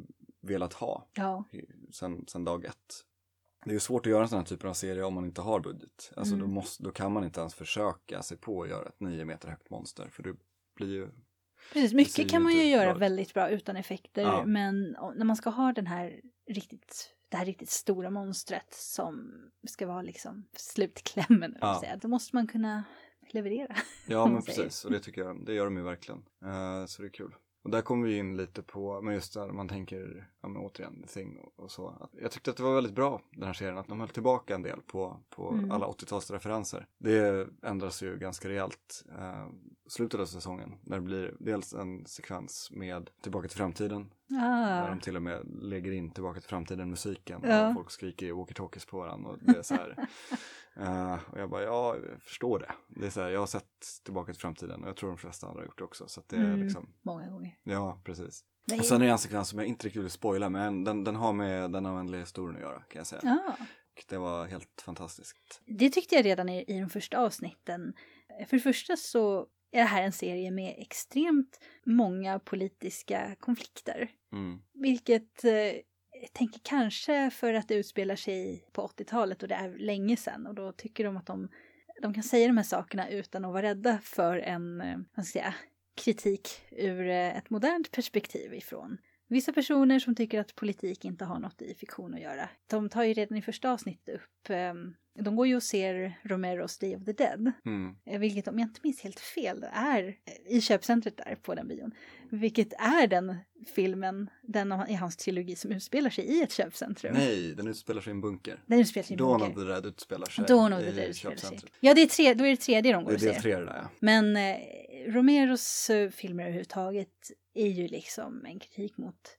velat ha Ja. sen, sen dag ett. Det är ju svårt att göra en sån här typ av serie om man inte har budget. Alltså Mm. då, måste, då kan man inte ens försöka sig på att göra ett nio meter högt monster. För det blir ju... Precis, ser mycket ju kan man ju inte göra bra ut. väldigt bra utan effekter. Ja. Men o- när man ska ha den här riktigt, det här riktigt stora monstret som ska vara liksom slutklämmen, eller vad man Ja. säger, då måste man kunna leverera. Ja om men man säger. precis, och det tycker jag, det gör de ju verkligen. Uh, så det är kul. Och där kommer vi in lite på, men just där man tänker, ja men återigen, The Thing och, och så. Att jag tyckte att det var väldigt bra, den här serien, att de höll tillbaka en del på, på Mm. alla åttiotalsreferenser. Det ändras ju ganska rejält uh, slutet av säsongen. När det blir dels en sekvens med Tillbaka till framtiden. Där Ah. de till och med lägger in Tillbaka till framtiden musiken. Ja. Och folk skriker walkie-talkies på varandra. Och det är så här. uh, och jag bara, ja, jag förstår det. Det är så här, jag har sett Tillbaka till framtiden. Och jag tror de flesta andra har gjort det också. Så att det är Mm. liksom, Många gånger. ja, precis. Det är- Och sen är det en sekvens som jag inte riktigt vill spoila. Men den, den har med den användliga historien att göra, kan jag säga. Ja. Och det var helt fantastiskt. Det tyckte jag redan i, i de första avsnitten. För det första så är det här en serie med extremt många politiska konflikter. Mm. Vilket eh, jag tänker kanske för att det utspelar sig på åttiotalet och det är länge sedan. Och då tycker de att de, de kan säga de här sakerna utan att vara rädda för en eh, vad ska jag säga, kritik ur eh, ett modernt perspektiv ifrån vissa personer som tycker att politik inte har något i fiktion att göra. De tar ju redan i första avsnittet upp, eh, de går ju och ser Romeros Day of the Dead. Mm. Eh, Vilket, om jag inte minns helt fel, är eh, i köpcentret där på den bion. Vilket är den filmen, den av, i hans trilogi som utspelar sig i ett köpcentrum. Nej, den utspelar sig i en bunker. Den utspelar sig i en Dawn bunker. of the Dead utspelar sig Dawn of the i Dead utspelar sig. köpcentret. Ja, det är tre, då är det tredje de går Det och är del ser. tre det där, ja. Men eh, Romeros eh, filmer överhuvudtaget är ju liksom en kritik mot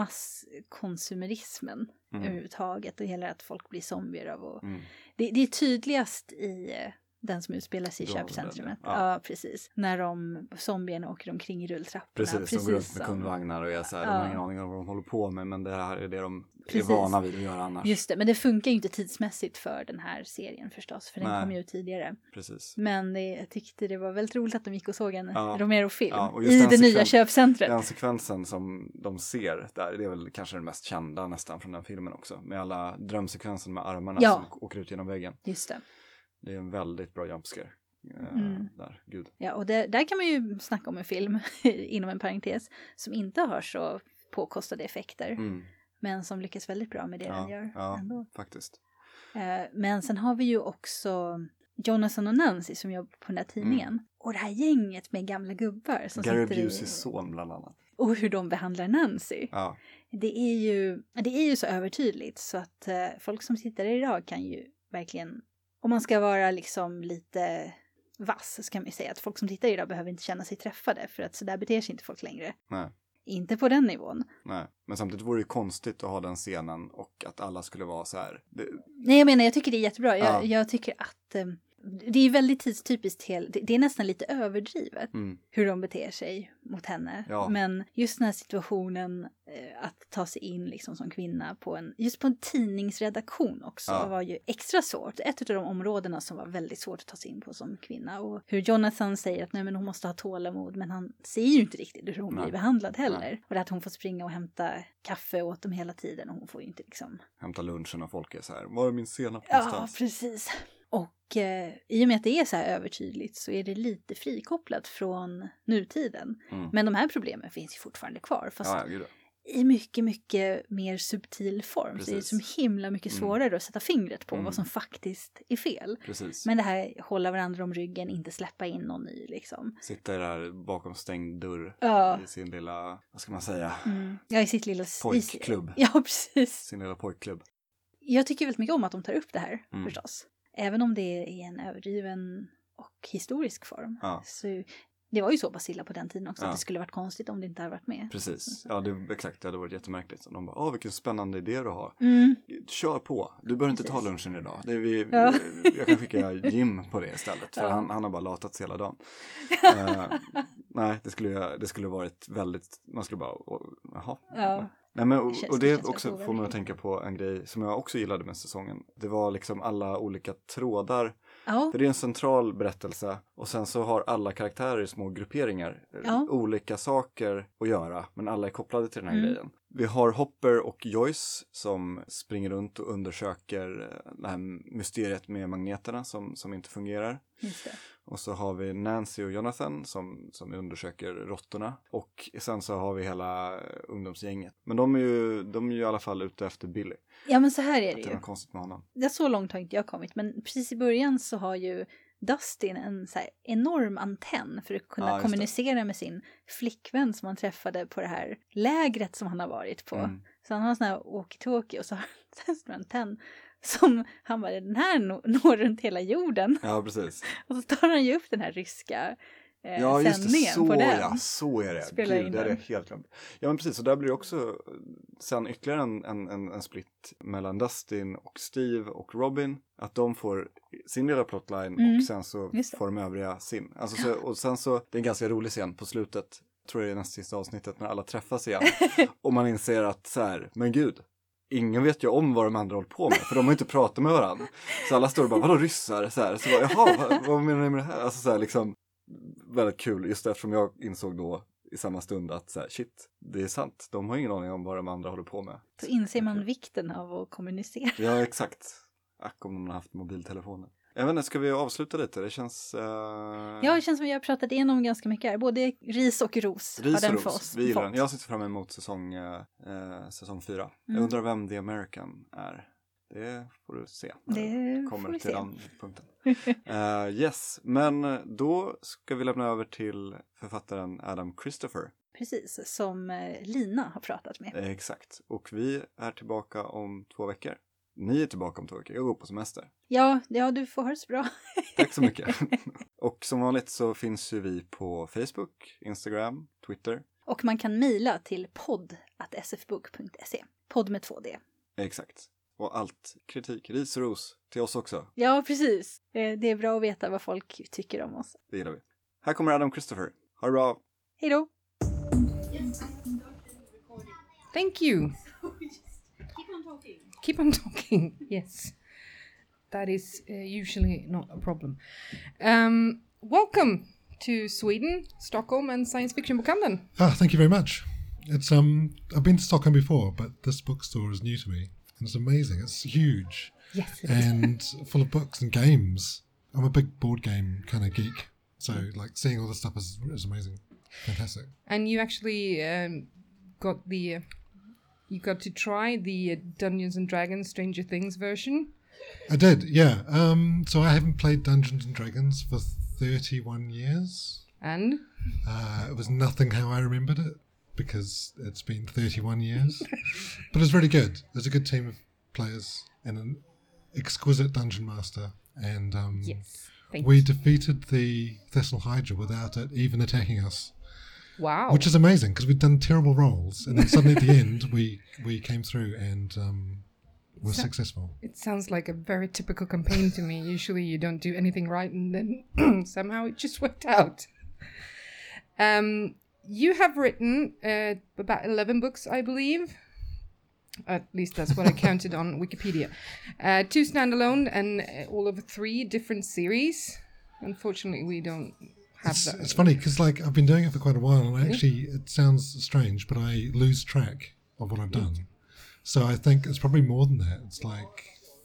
masskonsumerismen Mm. överhuvudtaget och hela att folk blir zombier av. Och Mm. det, det är tydligast i eh, den som utspelar sig i Dawn of the Dead, köpcentrumet. ja. Ja. ja, precis. När de zombierna åker omkring i rulltrapporna. Precis, de går runt med som- kundvagnar och är så här, Ja. de har ingen aning om vad de håller på med, men det här är det de Precis. är vana vid att göra annars. Just det, men det funkar ju inte tidsmässigt för den här serien förstås, för den Nej. kom ju ut tidigare. Precis. Men det, jag tyckte det var väldigt roligt att de gick och såg en Ja. Romero-film Ja, och just i den det nya sekven- köpcentret. Den sekvensen som de ser där, det är väl kanske den mest kända nästan från den filmen också. Med alla drömsekvensen med armarna Ja. som åker ut genom väggen. Just det. Det är en väldigt bra jumpscare. eh, Mm. Där, gud. Ja, och det, där kan man ju snacka om en film, inom en parentes, som inte har så påkostade effekter. Mm. Men som lyckas väldigt bra med det den Ja, gör ja ändå. faktiskt. Eh, men sen har vi ju också Jonathan och Nancy som jobbar på den här tidningen. Mm. Och det här gänget med gamla gubbar som Gary sitter i... Buseys son bland annat. Och hur de behandlar Nancy. Ja, Det är ju, det är ju så övertydligt så att eh, folk som sitter idag kan ju verkligen, om man ska vara liksom lite vass så kan man ju säga att folk som tittar idag behöver inte känna sig träffade för att så där beter sig inte folk längre. nej. Inte på den nivån. Nej, men samtidigt vore det ju konstigt att ha den scenen och att alla skulle vara så här. Det, Nej, jag menar, jag tycker det är jättebra. Jag, Ja. jag tycker att eh, det är väldigt tidstypiskt. Hel, det, det är nästan lite överdrivet mm, hur de beter sig mot henne. Ja. Men just den här situationen eh, att ta sig in liksom som kvinna på en, just på en tidningsredaktion också Ja. var ju extra svårt. Ett av de områdena som var väldigt svårt att ta sig in på som kvinna. Och hur Jonathan säger att nej, men hon måste ha tålamod, men han ser ju inte riktigt hur hon Nej. blir behandlad heller. Nej. Och det att hon får springa och hämta kaffe åt dem hela tiden och hon får ju inte liksom... hämta lunchen och folk är så här. Var är min senap Ja, någonstans? precis. Och eh, i och med att det är så här övertydligt så är det lite frikopplat från nutiden. Mm. Men de här problemen finns ju fortfarande kvar. Fast Ja, ja, gud. i mycket, mycket mer subtil form. Så det är Precis. som himla mycket Mm. svårare att sätta fingret på Mm. vad som faktiskt är fel. Precis. Men det här hålla varandra om ryggen, inte släppa in någon ny liksom. Sitta där bakom stängd dörr Ja. i sin lilla, vad ska man säga, Mm. Ja, i sitt lilla... Pojkklubb. Ja, precis. sin lilla pojkklubb. Jag tycker väldigt mycket om att de tar upp det här, Mm. förstås. Även om det är en överdriven och historisk form. Ja. Så det var ju så pass illa på den tiden också Ja. att det skulle varit konstigt om det inte hade varit med. Precis. Ja, det, exakt. Det hade varit jättemärkligt. Och de bara, åh vilken spännande idé du har. Mm. Kör på. Du behöver inte ta Precis. lunchen idag. Det är vi, Ja. Jag kan skicka Jim på det istället. För Ja. han, han har bara latat hela dagen. uh, nej, det skulle, det skulle varit väldigt, man skulle bara, oh, jaha. Ja. Nej, men, Det och, känns- och det det känns också väldigt får mig att oväldigt. tänka på en grej som jag också gillade med säsongen. Det var liksom alla olika trådar. Ja. För det är en central berättelse och sen så har alla karaktärer i små grupperingar Ja. olika saker att göra, men alla är kopplade till den här Mm. grejen. Vi har Hopper och Joyce som springer runt och undersöker det här mysteriet med magneterna som, som inte fungerar. Just det. Och så har vi Nancy och Jonathan som, som undersöker råttorna. Och sen så har vi hela ungdomsgänget. Men de är ju, de är ju i alla fall ute efter Billy. Ja, men så här är det Att ju. det är något konstigt med honom. Det är så långt har inte jag kommit, men precis i början så har ju Dustin en så här enorm antenn för att kunna Ja, just kommunicera med sin flickvän som han träffade på det här lägret som han har varit på. Mm. Så han har en sån här walkie-talkie och så har han en stor antenn som han bara, den här når, når runt hela jorden. Ja, precis. Och så tar han ju upp den här ryska eh, Ja, just det. sändningen Så, på den. ja, så är det. Spelar in Gud, det är den. det helt glömt. Ja, men precis. Och där blir det också sen ytterligare en, en, en, en split mellan Dustin och Steve och Robin. Att de får sin lilla plotline Mm. och sen så Just det. får de övriga sin. Alltså, så, och sen så, det är en ganska rolig scen på slutet. Tror jag det är nästa sista avsnittet när alla träffas igen. Och man inser att så här, men gud. Ingen vet ju om vad de andra håller på med, för de har inte pratat med varandra. Så alla står och bara, vadå ryssar? Så här, så bara, jaha, vad, vad menar ni med det här? Alltså så här, liksom, väldigt kul, just eftersom jag insåg då i samma stund att så här, shit, det är sant. De har ingen aning om vad de andra håller på med. Då inser man vikten av att kommunicera. Ja, exakt. Ack om de har haft mobiltelefoner. Jag vet inte, ska vi avsluta lite? Det känns... Uh... Ja, det känns som att jag har pratat igenom ganska mycket här. Både ris och ros Ris har den och för ros, oss vi gillar fått. den. Jag sitter fram emot säsong, uh, säsong fyra. Mm. Jag undrar vem The American är. Det får du se. Det när får kommer vi till se. den punkten. uh, yes, men då ska vi lämna över till författaren Adam Christopher. Precis, som eh, Lina har pratat med. Uh, exakt. Och vi är tillbaka om två veckor. Ni är tillbaka om två veckor. Jag går på semester. Ja, ja, du får ha det så bra. Tack så mycket. Och som vanligt så finns ju vi på Facebook, Instagram, Twitter. Och man kan mejla till podd at s f book punkt se. Podd med två D. Exakt. Och allt kritik, ris och ros till oss också. Ja, precis. Eh, Det är bra att veta vad folk tycker om oss. Det gillar vi. Här kommer Adam Christopher. Ha det bra. Hej då! Thank you. Keep on talking. Keep on talking. Yes. That is uh, usually not a problem. Um, welcome to Sweden, Stockholm, and Science Fiction Bokhandeln. Ah, thank you very much. It's um, I've been to Stockholm before, but this bookstore is new to me, and it's amazing. It's huge Yes, it is. and full of books and games. I'm a big board game kind of geek, so like seeing all this stuff is is amazing, fantastic. And you actually um, got the uh, you got to try the uh, Dungeons and Dragons Stranger Things version. I did, yeah. Um, so I haven't played Dungeons and Dragons for thirty-one years. And Uh, it was nothing how I remembered it because it's been thirty-one years. But it's really good. There's a good team of players and an exquisite dungeon master. And um, yes, thank we you. defeated the Thessal Hydra without it even attacking us, Wow. which is amazing because we'd done terrible rolls. And then suddenly at the end, we, we came through and um, were So- successful. It sounds like a very typical campaign to me. Usually you don't do anything right and then somehow it just worked out. Um, you have written uh, about eleven books, I believe. At least that's what I counted on Wikipedia. Uh, two standalone and uh, all of three different series. Unfortunately, we don't have It's, that. it's funny because like I've been doing it for quite a while, and actually it sounds strange, but I lose track of what I've done. So I think it's probably more than that. It's like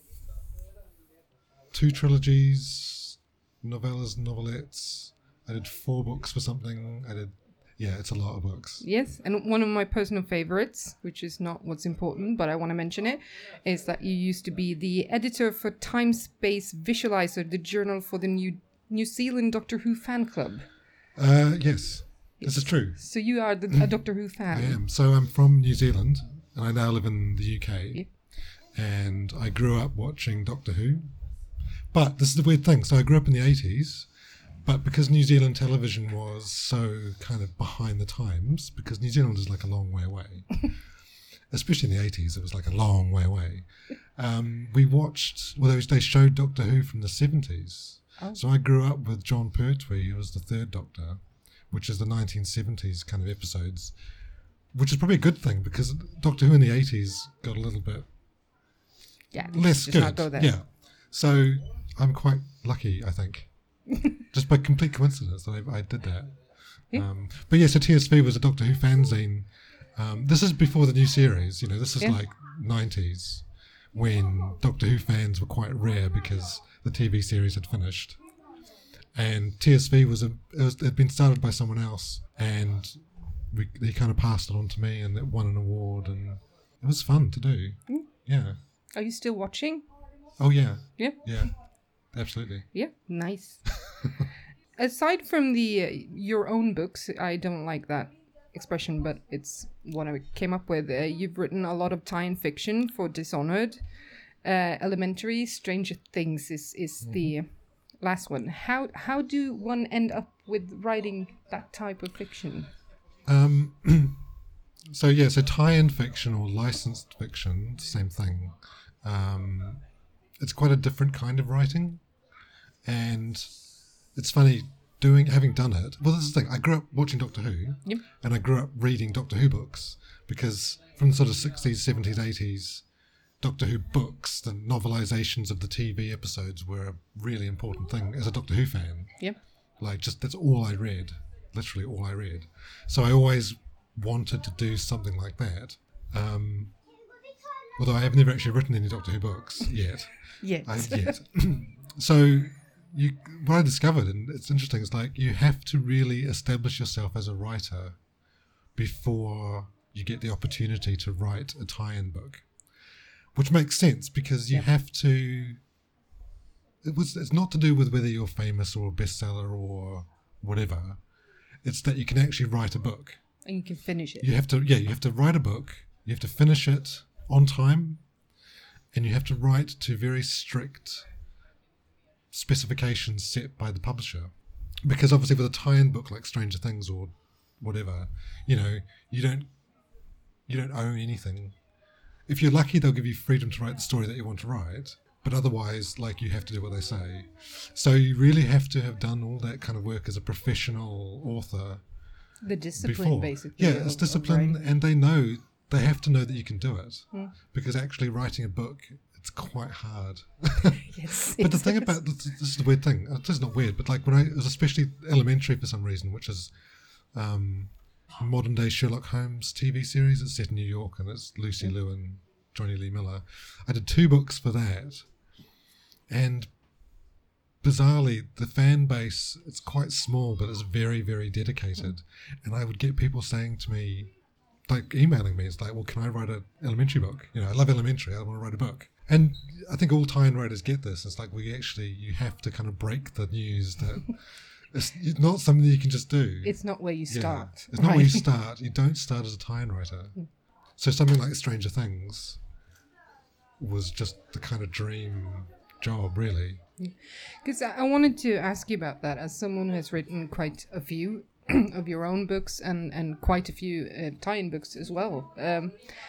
two trilogies, novellas, novelettes. I did four books for something. I did, yeah, it's a lot of books. Yes, and one of my personal favorites, which is not what's important, but I want to mention it, is that you used to be the editor for Time Space Visualizer, the journal for the New New Zealand Doctor Who fan club. Uh, yes, this is true. So you are the, a Doctor Who I fan. am. So I'm from New Zealand, and I now live in the U K. Yeah. And I grew up watching Doctor Who. But this is the weird thing. So I grew up in the eighties, but because New Zealand television was so kind of behind the times, because New Zealand is like a long way away, especially in the eighties, it was like a long way away. Um, we watched, well, they they showed Doctor Who from the seventies. Oh. So I grew up with John Pertwee, who was the third Doctor, which is the nineteen seventies kind of episodes, which is probably a good thing because Doctor Who in the eighties got a little bit Yeah, less just good. not go there. Yeah. So I'm quite lucky, I think. Just by complete coincidence that I, I did that. Yeah. Um, but yeah, so T S V was a Doctor Who fanzine Um, this is before the new series. You know, this is Yeah. like nineties, when Doctor Who fans were quite rare because the T V series had finished. And T S V was, a, it was it had been started by someone else, and we, they kind of passed it on to me, and it won an award, and it was fun to do. Mm. Yeah. Are you still watching? Oh yeah. Yeah. Yeah. Absolutely. Yeah, nice. Aside from the uh, your own books, I don't like that expression, but it's what I came up with. Uh, you've written a lot of tie-in fiction for Dishonored. Uh, Elementary, Stranger Things is is mm-hmm. the last one. How how do one end up with writing that type of fiction? Um. So yeah, so tie-in fiction or licensed fiction, same thing. Um, it's quite a different kind of writing, and it's funny doing having done it. Well, this is the thing. I grew up watching Doctor Who, yep. and I grew up reading Doctor Who books because from the sort of sixties, seventies, eighties, Doctor Who books, the novelizations of the T V episodes were a really important thing as a Doctor Who fan. Yep. Like, just that's all I read, literally all I read. So I always wanted to do something like that. Um, although I have never actually written any Doctor Who books yet. Yet. I, yet. So you, what I discovered, and it's interesting, is like you have to really establish yourself as a writer before you get the opportunity to write a tie-in book, which makes sense because you yeah. have to. It was. It's not to do with whether you're famous or a bestseller or whatever. It's that you can actually write a book. And you can finish it. You have to, yeah, you have to write a book, you have to finish it on time, and you have to write to very strict specifications set by the publisher. Because obviously with a tie-in book like Stranger Things or whatever, you know, you don't, you don't own anything. If you're lucky, they'll give you freedom to write the story that you want to write, but otherwise, like, you have to do what they say. So you really have to have done all that kind of work as a professional author. The discipline, before. basically. Yeah, it's of, discipline, of and they know, they have to know that you can do it. Mm. Because actually writing a book, it's quite hard. Yes. But the thing about, this, this is the weird thing, this is not weird, but like when I, it was especially Elementary for some reason, which is um, modern day Sherlock Holmes T V series. It's set in New York, and it's Lucy Liu and Johnny Lee Miller. I did two books for that, and bizarrely, the fan base, it's quite small, but it's very, very dedicated. And I would get people saying to me, like emailing me, it's like, well, can I write an Elementary book? You know, I love Elementary, I want to write a book. And I think all tie-in writers get this. It's like, we actually, you have to kind of break the news that it's not something that you can just do. It's not where you Yeah. start. It's not right? where you start. You don't start as a tie-in writer. So something like Stranger Things was just the kind of dream job, really. Because I I wanted to ask you about that as someone who has written quite a few of your own books and, and quite a few uh, tie-in books as well. Um,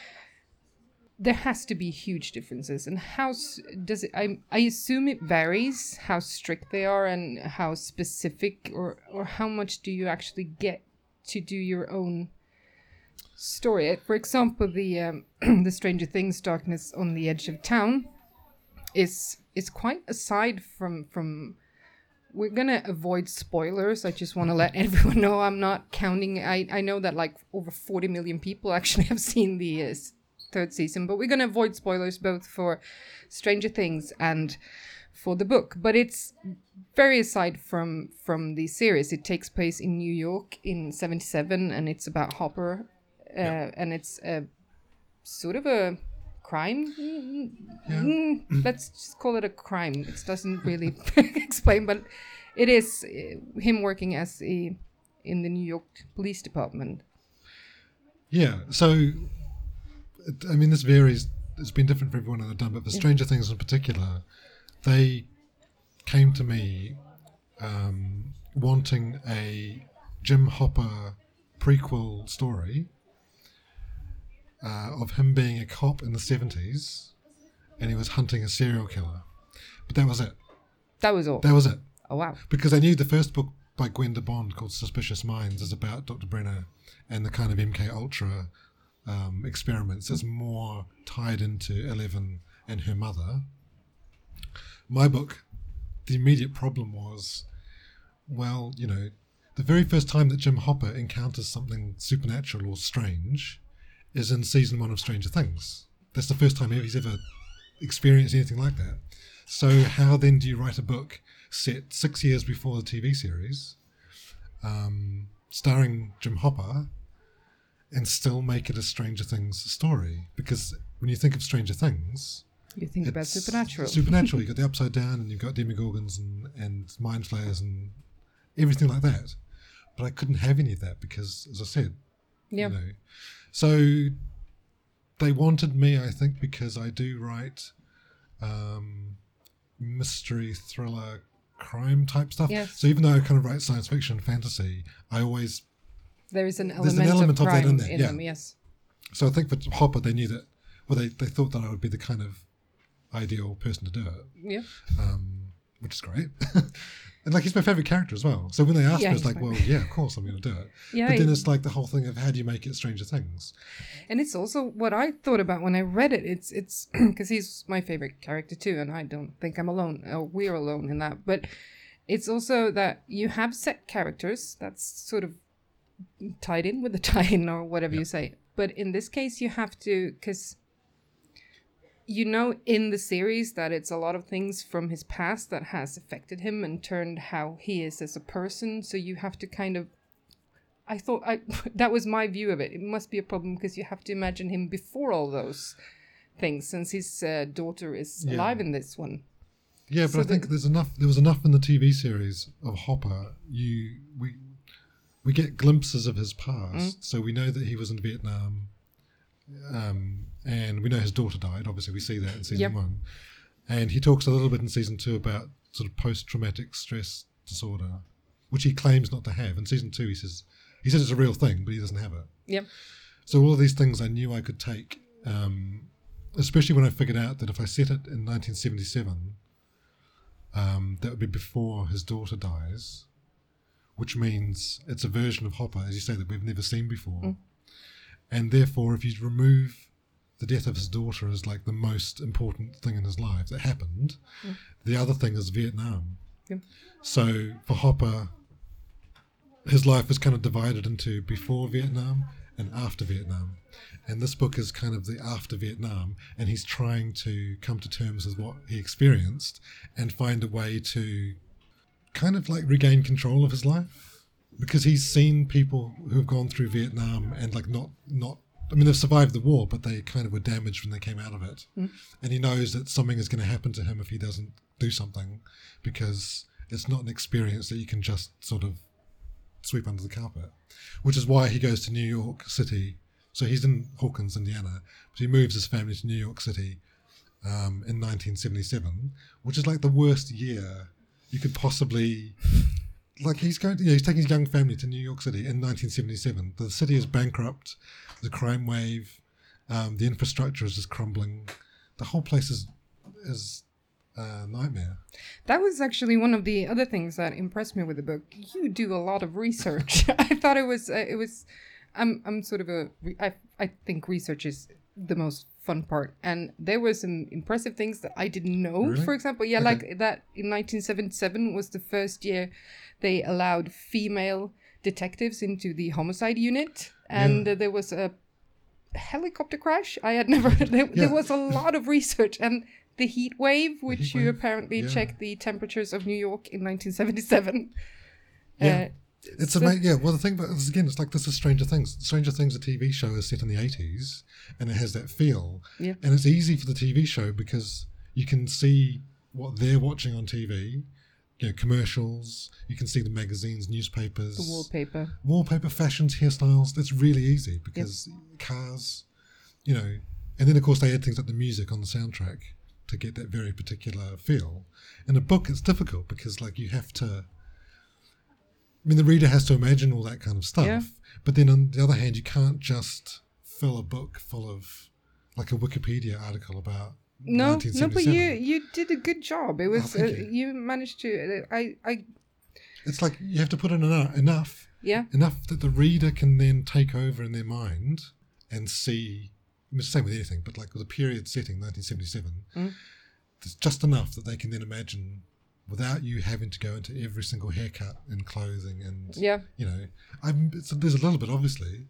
there has to be huge differences. And how s- does it, I, I assume it varies how strict they are and how specific, or, or how much do you actually get to do your own story. For example, the um, the Stranger Things Darkness on the Edge of Town is is quite aside from from we're gonna avoid spoilers. I just want to let everyone know I'm not counting. I, I know that like over forty million people actually have seen the uh, third season, but we're gonna avoid spoilers both for Stranger Things and for the book. But it's very aside from from the series. It takes place in New York in seventy-seven, and it's about Hopper, uh, yeah. and it's a sort of a crime. Yeah. Mm, let's just call it a crime. It doesn't really explain, but it is uh, him working as a in the New York Police Department. Yeah. So, I mean, this varies. It's been different for everyone I've done, but for Stranger Things in particular, they came to me um, wanting a Jim Hopper prequel story uh, of him being a cop in the seventies, and he was hunting a serial killer. But that was it. That was all. That was it. Oh, wow. Because I knew the first book by Gwenda Bond called Suspicious Minds is about Doctor Brenner and the kind of M K Ultra um, experiments. It's more tied into Eleven and her mother. My book, the immediate problem was, well, you know, the very first time that Jim Hopper encounters something supernatural or strange, is in season one of Stranger Things. That's the first time he's ever experienced anything like that. So how then do you write a book set six years before the T V series, um, starring Jim Hopper, and still make it a Stranger Things story? Because when you think of Stranger Things, You think about it's supernatural. Supernatural. You've got the Upside Down, and you've got Demogorgons and, and Mind Flayers and everything like that. But I couldn't have any of that because, as I said, Yeah. you know. So they wanted me, I think, because I do write um, mystery, thriller, crime type stuff. Yes. So even though I kind of write science fiction, fantasy, I always... There is an There's element, an element of of that crime in there, yeah. them, yes. So I think for Hopper, they knew that, well, they, they thought that I would be the kind of ideal person to do it, Yeah. um, which is great. And like, he's my favourite character as well. So when they asked Yeah, me, it's he's like, my- well, yeah, of course I'm going to do it. Yeah, But then he- it's like the whole thing of how do you make it Stranger Things? And it's also what I thought about when I read it. It's it's because he's my favorite character too, and I don't think I'm alone, or we're alone in that. But it's also that you have set characters that's sort of tied in with the tie-in or whatever you say. But in this case, you have to, because you know in the series that it's a lot of things from his past that has affected him and turned how he is as a person. So you have to kind of, I thought I that was my view of it. It must be a problem because you have to imagine him before all those things, since his uh, daughter is Yeah. alive in this one. Yeah, but So I think the- there's enough. There was enough in the T V series of Hopper. You we we get glimpses of his past, so we know that he was in Vietnam, um, and we know his daughter died. Obviously, we see that in season Yep. one, and he talks a little bit in season two about sort of post-traumatic stress disorder, which he claims not to have. In season two, he says he says it's a real thing, but he doesn't have it. Yep. So all of these things I knew I could take, um, especially when I figured out that if I set it in nineteen seventy-seven, um, that would be before his daughter dies, which means it's a version of Hopper, as you say, that we've never seen before. Mm. And therefore, if you remove the death of his daughter as like the most important thing in his life that happened, Mm. the other thing is Vietnam. Yep. So for Hopper, his life was kind of divided into before Vietnam and after Vietnam. And this book is kind of the after Vietnam, and he's trying to come to terms with what he experienced and find a way to kind of like regain control of his life. Because he's seen people who have gone through Vietnam and like not, not I mean, they've survived the war, but they kind of were damaged when they came out of it. Mm. And he knows that something is going to happen to him if he doesn't do something, because it's not an experience that you can just sort of sweep under the carpet, which is why he goes to New York City. So he's in Hawkins, Indiana, but he moves his family to New York City um, in nineteen seventy-seven, which is like the worst year you could possibly... Like he's going to, yeah, he's taking his young family to New York City in nineteen seventy-seven. The city is bankrupt, the crime wave, um, the infrastructure is just crumbling. The whole place is is a nightmare. That was actually one of the other things that impressed me with the book. You do a lot of research. I thought it was uh, it was. I'm I'm sort of a. re- I I think research is the most fun part, and there were some impressive things that I didn't know. Really? For example, yeah, Okay. like that in nineteen seventy-seven was the first year they allowed female detectives into the homicide unit, and Yeah. uh, there was a helicopter crash. I had never. There, Yeah. there was a lot of research, and the heat wave, which heat you wave, apparently yeah. checked the temperatures of New York in nineteen seventy-seven. Yeah. Uh, It's so- amazing. Yeah, well, the thing about this again, it's like this is Stranger Things. Stranger Things, a T V show, is set in the eighties, and it has that feel. Yeah. And it's easy for the T V show because you can see what they're watching on T V. You know, commercials. You can see the magazines, newspapers, The wallpaper. wallpaper, fashions, hairstyles. That's really easy because cars, you know, and then of course they add things like the music on the soundtrack to get that very particular feel. In a book, it's difficult because like you have to. I mean, the reader has to imagine all that kind of stuff. Yeah. But then on the other hand, you can't just fill a book full of like a Wikipedia article about No, no, but you 1977. you did a good job. It was Oh, thank uh, you. you managed to. Uh, I I It's like you have to put in enough, enough, yeah. enough that the reader can then take over in their mind and see. I mean, it's the same with anything, but like with a period setting, nineteen seventy-seven, Mm. there's just enough that they can then imagine without you having to go into every single haircut and clothing and Yeah. you know, I'm, it's, there's a little bit obviously,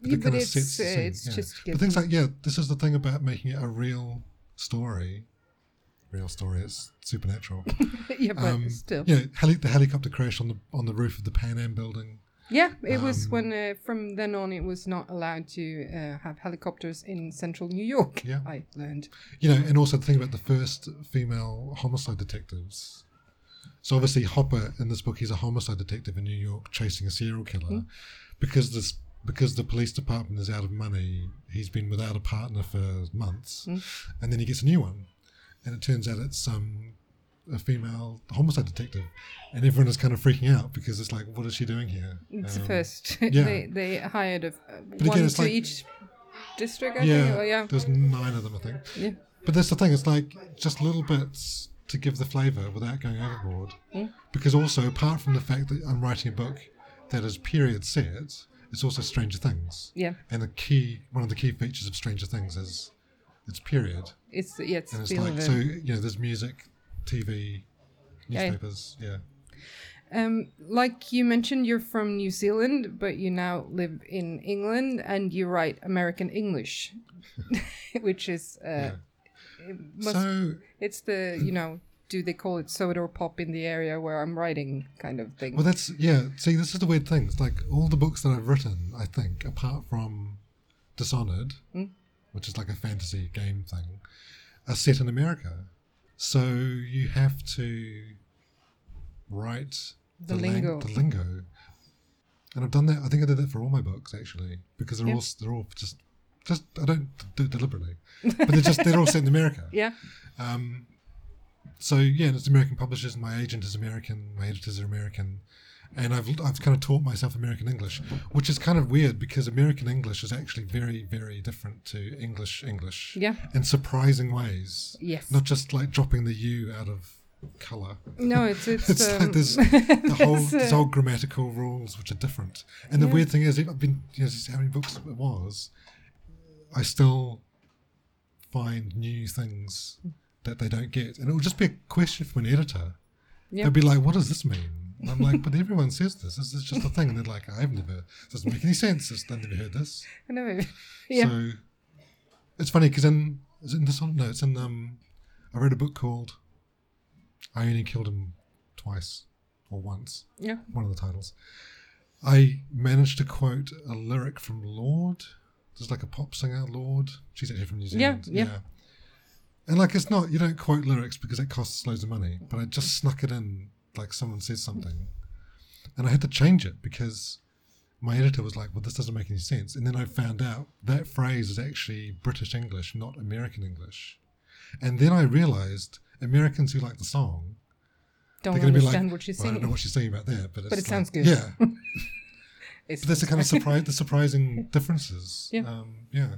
but Yeah, it but kind of it's, sets the uh, scene. it's yeah. just But things like, yeah, this is the thing about making it a real story. Real story, it's supernatural. yeah, but um, still. You know, heli- the helicopter crash on the on the roof of the Pan Am building. Yeah, it was Um, when uh, from then on it was not allowed to uh, have helicopters in central New York. Yeah. I learned. You know, and also the thing about the first female homicide detectives. So obviously Hopper in this book, he's a homicide detective in New York chasing a serial killer. Mm. Because this because the police department is out of money, he's been without a partner for months, Mm. and then he gets a new one. And it turns out it's um, a female homicide detective. And everyone is kind of freaking out because it's like, what is she doing here? It's Um, the first. yeah. they they hired a, uh, again, one it's to like- each district. I yeah, think. Oh, yeah. there's nine of them, I think. Yeah. But that's the thing, it's like just little bits to give the flavour without going overboard. Mm. Because also, apart from the fact that I'm writing a book that is period set, it's also Stranger Things. Yeah. And the key, one of the key features of Stranger Things is it's period. It's yeah. It's, And it's feel like, of it. so, you know, there's music, T V, Yeah. newspapers, yeah. Um, like you mentioned, you're from New Zealand, but you now live in England, and you write American English, which is uh, Yeah. it must, So, it's the you know, do they call it soda or pop in the area where I'm writing kind of thing. well, that's, yeah, see, this is the weird thing. It's like all the books that I've written, I think, apart from Dishonored, Mm. which is like a fantasy game thing, are set in America. So you have to write The lang- lingo. the lingo. And I've done that. I think I did that for all my books actually, because they're Yeah. all they're all just just I don't do it deliberately, but they're just they're all set in America. Yeah. Um, so yeah, and it's American publishers. My agent is American. My editors are American, and I've I've kind of taught myself American English, which is kind of weird because American English is actually very very different to English English. Yeah. In surprising ways. Yes. Not just like dropping the U out of color. No, it's it's, It's um, like there's the whole it's, uh, there's whole grammatical rules which are different. And the Yeah. weird thing is, I've been you know just how many books it was, I still find new things that they don't get, and it will just be a question from an editor. Yeah. They'll be like, "What does this mean?" And I'm like, "But everyone says this. This is just a thing." And they're like, "I've never. This doesn't make any sense. This- I've never heard this." I know. Yeah. So it's funny because in is it in this one? No, it's in um. I read a book called "I Only Killed Him Twice or Once." Yeah. One of the titles. I managed to quote a lyric from Lorde. There's like a pop singer, Lorde. She's actually from New Yeah, Zealand. yeah. And like it's not you don't quote lyrics because it costs loads of money. But I just snuck it in like someone says something, and I had to change it because my editor was like, "Well, this doesn't make any sense." And then I found out that phrase is actually British English, not American English. And then I realized Americans who like the song, Don't they're going to be understand like, what she's well, I don't saying. know what she's saying about there, but, it's But it like- sounds good. Yeah, It's but that's the kind of surprise, the surprising differences. Yeah. um, yeah.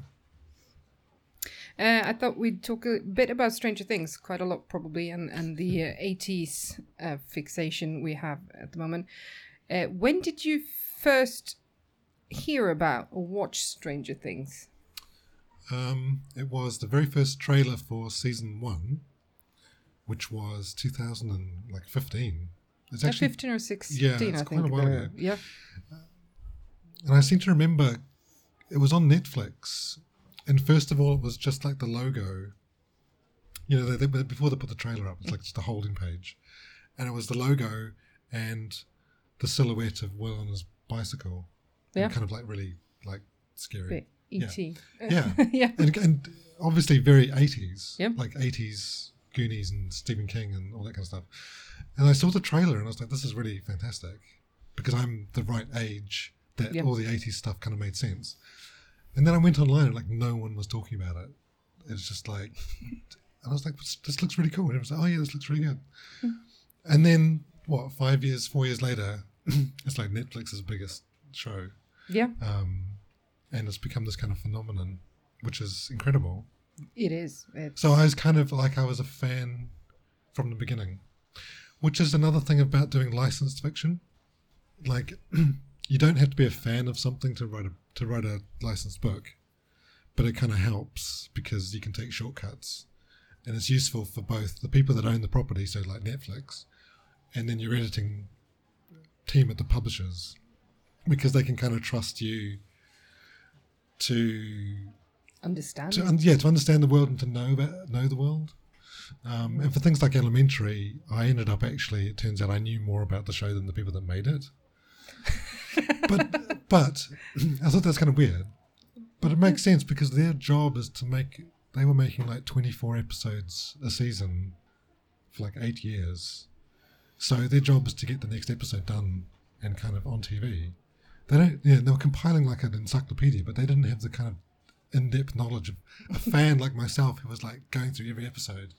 Uh, I thought we'd talk a bit about Stranger Things, quite a lot probably, and, and the uh, eighties uh, fixation we have at the moment. Uh, when did you first hear about or watch Stranger Things? Um, it was the very first trailer for season one, which was two thousand fifteen. It's Uh, actually, fifteen or sixteen, yeah, it's I quite think. a while uh, ago. Yeah. and I seem to remember it was on Netflix. And first of all, it was just like the logo. You know, they, they, before they put the trailer up, it's like just a holding page, and it was the logo and the silhouette of Will on his bicycle. And Yeah. kind of like really like scary. Bit E T. Yeah. yeah. and, and obviously very eighties, Yep. like eighties Goonies and Stephen King and all that kind of stuff. And I saw the trailer and I was like, this is really fantastic because I'm the right age that Yep. all the eighties stuff kind of made sense. And then I went online and like no one was talking about it. It's just like, and I was like, this looks really cool. And everyone was like, oh yeah, this looks really good. And then what, five years, four years later, it's like Netflix's biggest show. Yeah, Um, and it's become this kind of phenomenon, which is incredible. it is. It's, So I was kind of like I was a fan from the beginning, which is another thing about doing licensed fiction. Like, you don't have to be a fan of something to write a to write a licensed book, but it kind of helps because you can take shortcuts, and it's useful for both the people that own the property, so like Netflix, and then your editing team at the publishers, because they can kind of trust you to Understand. to un- yeah to understand the world and to know about, know the world. Um, and for things like Elementary, I ended up actually, it turns out I knew more about the show than the people that made it. but but I thought that's kind of weird. But it makes sense because their job is to make, they were making like twenty-four episodes a season for like eight years. So their job is to get the next episode done and kind of on T V. They don't, yeah, they were compiling like an encyclopedia, but they didn't have the kind of in-depth knowledge of a fan like myself who was like going through every episode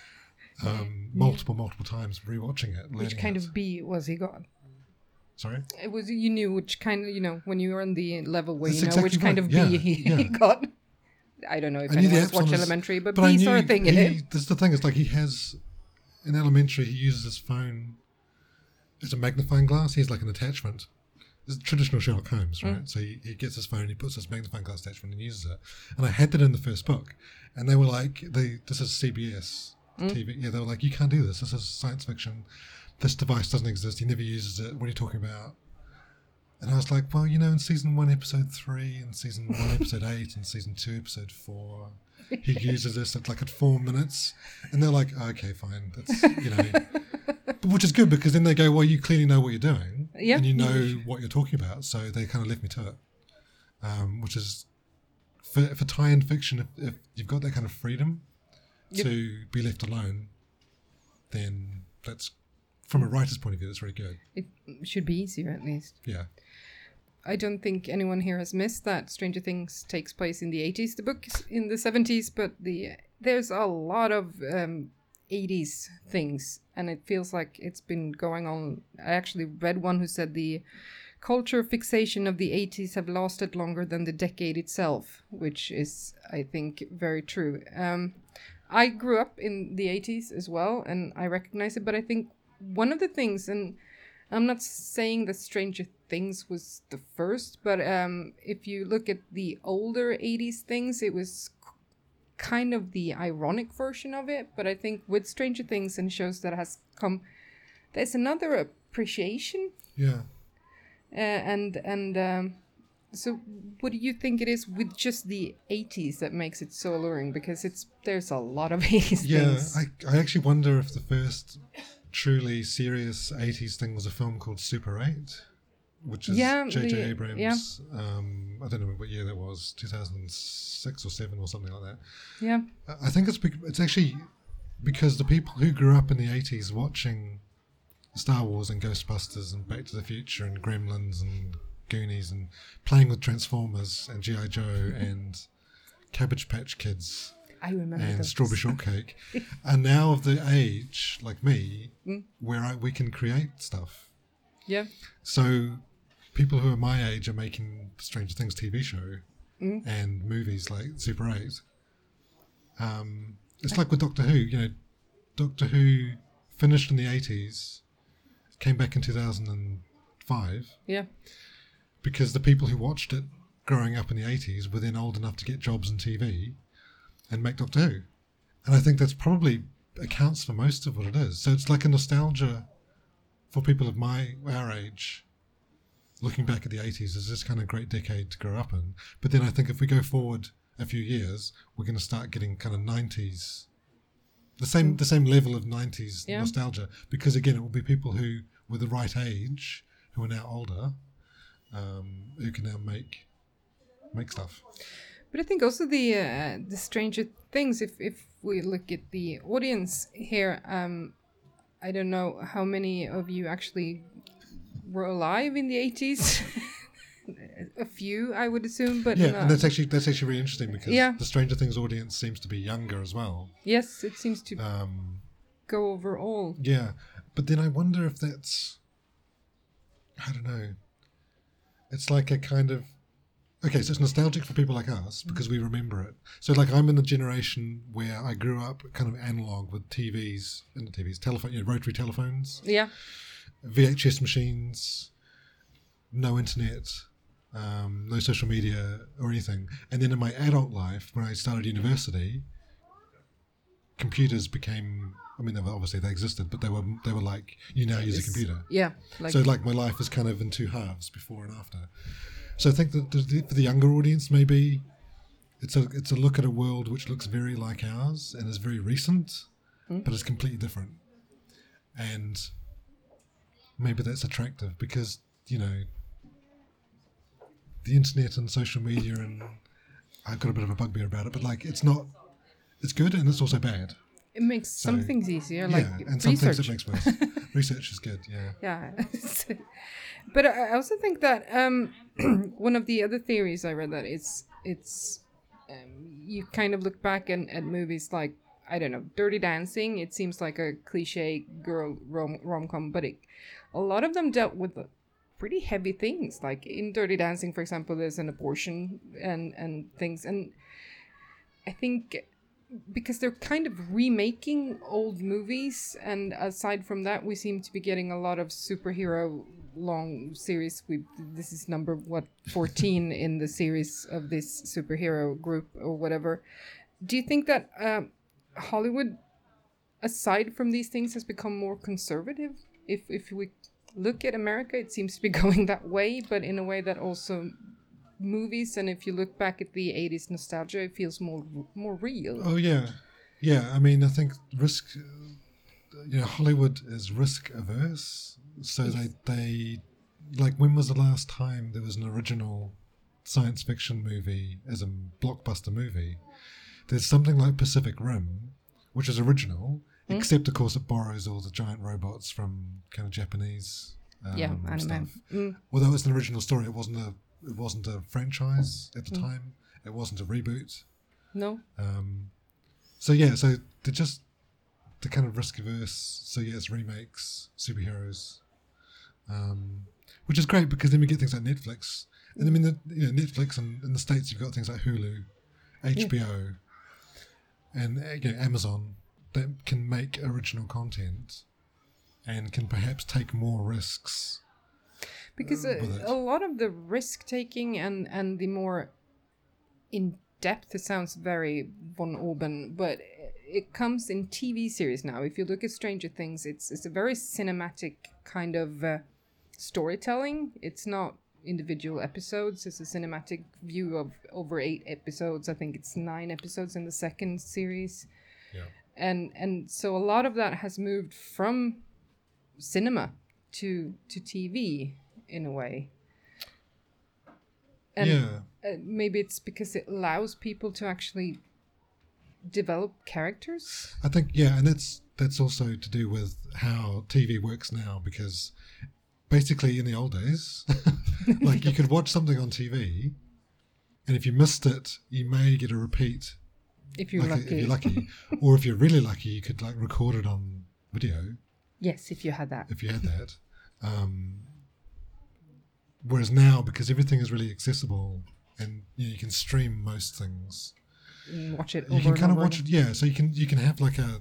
um, multiple, multiple times, rewatching it. Which kind it. of B was he got? Sorry? It was, you knew which kind of, you know, when you were on the level where That's you know exactly which kind right. of Yeah, B he, yeah. he got. I don't know if I knew the anyone has Epsilon watched is- Elementary, but, but I B's are a knew thing in he, it. This is the thing, it's like he has, in Elementary, he uses his phone as a magnifying glass. He has like an attachment. This is traditional Sherlock Holmes, right? Mm. So he, he gets his phone, he puts this magnifying glass attachment and uses it. And I had that in the first book. And they were like, they, this is C B S Mm. T V. Yeah, they were like, you can't do this. This is science fiction. This device doesn't exist. He never uses it. What are you talking about? And I was like, well, you know, in season one, episode three, and season one, episode eight, and season two, episode four, he uses this at like at four minutes. And they're like, oh, okay, fine. That's, you know, but which is good because then they go, well, you clearly know what you're doing. Yeah. And you know what you're talking about. So they kind of left me to it, um, which is for, for tie-in fiction, if, if you've got that kind of freedom Yep. to be left alone, then that's, from a writer's point of view, that's very good. It should be easier at least. Yeah. I don't think anyone here has missed that Stranger Things takes place in the eighties. The book is in the seventies, but the there's a lot of um, eighties things, and it feels like it's been going on. I actually read one who said the culture fixation of the eighties have lasted longer than the decade itself, which is, I think, very true. Um, I grew up in the eighties as well, and I recognize it, but I think one of the things, and I'm not saying that Stranger Things was the first, but um, if you look at the older eighties things, it was k- kind of the ironic version of it. But I think with Stranger Things and shows that has come, there's another appreciation. Yeah. Uh, and and um, so what do you think it is with just the eighties that makes it so alluring? Because it's there's a lot of eighties Yeah, things. I, I actually wonder if the first truly serious eighties thing was a film called Super eight, which is Yeah, J J the- Abrams. Um, I don't know what year that was, two thousand six or seven or something like that. Yeah. I think it's bec- it's actually because the people who grew up in the eighties watching Star Wars and Ghostbusters and Back to the Future and Gremlins and Goonies and playing with Transformers and G I Joe and Cabbage Patch Kids I remember and those. Strawberry Shortcake are now of the age, like me, Mm. where I, we can create stuff. Yeah. So people who are my age are making the Stranger Things T V show Mm. and movies like Super eight. Um, it's like with Doctor Who, you know, Doctor Who finished in the eighties, came back in two thousand five, Yeah. because the people who watched it growing up in the eighties were then old enough to get jobs in T V and make Doctor Who. And I think that's probably accounts for most of what it is. So it's like a nostalgia for people of my our age. Looking back at the eighties as this kind of great decade to grow up in. But then I think if we go forward a few years, we're going to start getting kind of nineties, the same the same level of nineties Yeah. nostalgia. Because again, it will be people who were the right age, who are now older, um, who can now make make stuff. But I think also the uh, the Stranger Things, if if we look at the audience here, um, I don't know how many of you actually were alive in the eighties. A few, I would assume, but Yeah, no. and that's actually that's actually really interesting because Yeah. the Stranger Things audience seems to be younger as well. Yes, it seems to Um, go over all. yeah, but then I wonder if that's, I don't know. It's like a kind of, okay, so it's nostalgic for people like us because we remember it. So like I'm in the generation where I grew up kind of analog with T Vs, and the T Vs, telephone, you know, rotary telephones, Yeah, V H S machines, no internet, um, no social media or anything. And then in my adult life, when I started university, computers became, I mean, they were, obviously they existed, but they were they were like, you now use a It's- computer. yeah, like so like my life is kind of in two halves, before and after. So I think that the, for the younger audience, maybe it's a it's a look at a world which looks very like ours and is very recent, mm. but is completely different. And maybe that's attractive because, you know, the internet and social media, and I've got a bit of a bugbear about it, but like it's not, it's good and it's also bad. It makes so, some things easier, yeah, like and some research. things it makes worse. Research is good, yeah. Yeah. But I also think that um, one of the other theories I read that it's, it's um, you kind of look back and, at movies like, I don't know, Dirty Dancing. It seems like a cliche girl rom- rom-com, but it, a lot of them dealt with pretty heavy things. Like in Dirty Dancing, for example, there's an abortion and, and things. And I think because they're kind of remaking old movies, and aside from that, we seem to be getting a lot of superhero long series. We this is number what fourteen in the series of this superhero group or whatever. Do you think that um, Hollywood, aside from these things, has become more conservative? If if we look at America, it seems to be going that way, but in a way that also movies, and if you look back at the eighties nostalgia, it feels more more real. Oh yeah, yeah. I mean, I think risk. You know, Hollywood is risk averse, so yes. they they like. When was the last time there was an original science fiction movie as a blockbuster movie? There's something like Pacific Rim, which is original, mm. except of course it borrows all the giant robots from kind of Japanese um, yeah, anime. stuff. Mm. Although it's an original story, it wasn't a it wasn't a franchise at the mm. time. It wasn't a reboot. No. Um, so yeah, so they're just they're kind of risk averse. So yeah, it's remakes, superheroes, um, which is great because then we get things like Netflix. And I mean, the, you know, Netflix and in the States you've got things like Hulu, H B O. Yeah. And you know, Amazon that can make original content and can perhaps take more risks. Because a, a lot of the risk taking and, and the more in depth, it sounds very von Oben, but it comes in T V series now. If you look at Stranger Things, it's it's a very cinematic kind of uh, storytelling. It's not individual episodes. It's a cinematic view of over eight episodes. I think it's nine episodes in the second series. Yeah. And and so a lot of that has moved from cinema to to T V in a way. And yeah. uh, maybe it's because it allows people to actually develop characters. I think yeah, and that's that's also to do with how T V works now, because basically in the old days, like you could watch something on T V, and if you missed it, you may get a repeat. If you're like lucky. A, if you're lucky. Or if you're really lucky, you could like record it on video. Yes, if you had that. If you had that. Um, whereas now, because everything is really accessible and you know, you can stream most things. And watch it over You can and kind of over watch it, yeah. So you can you can have like a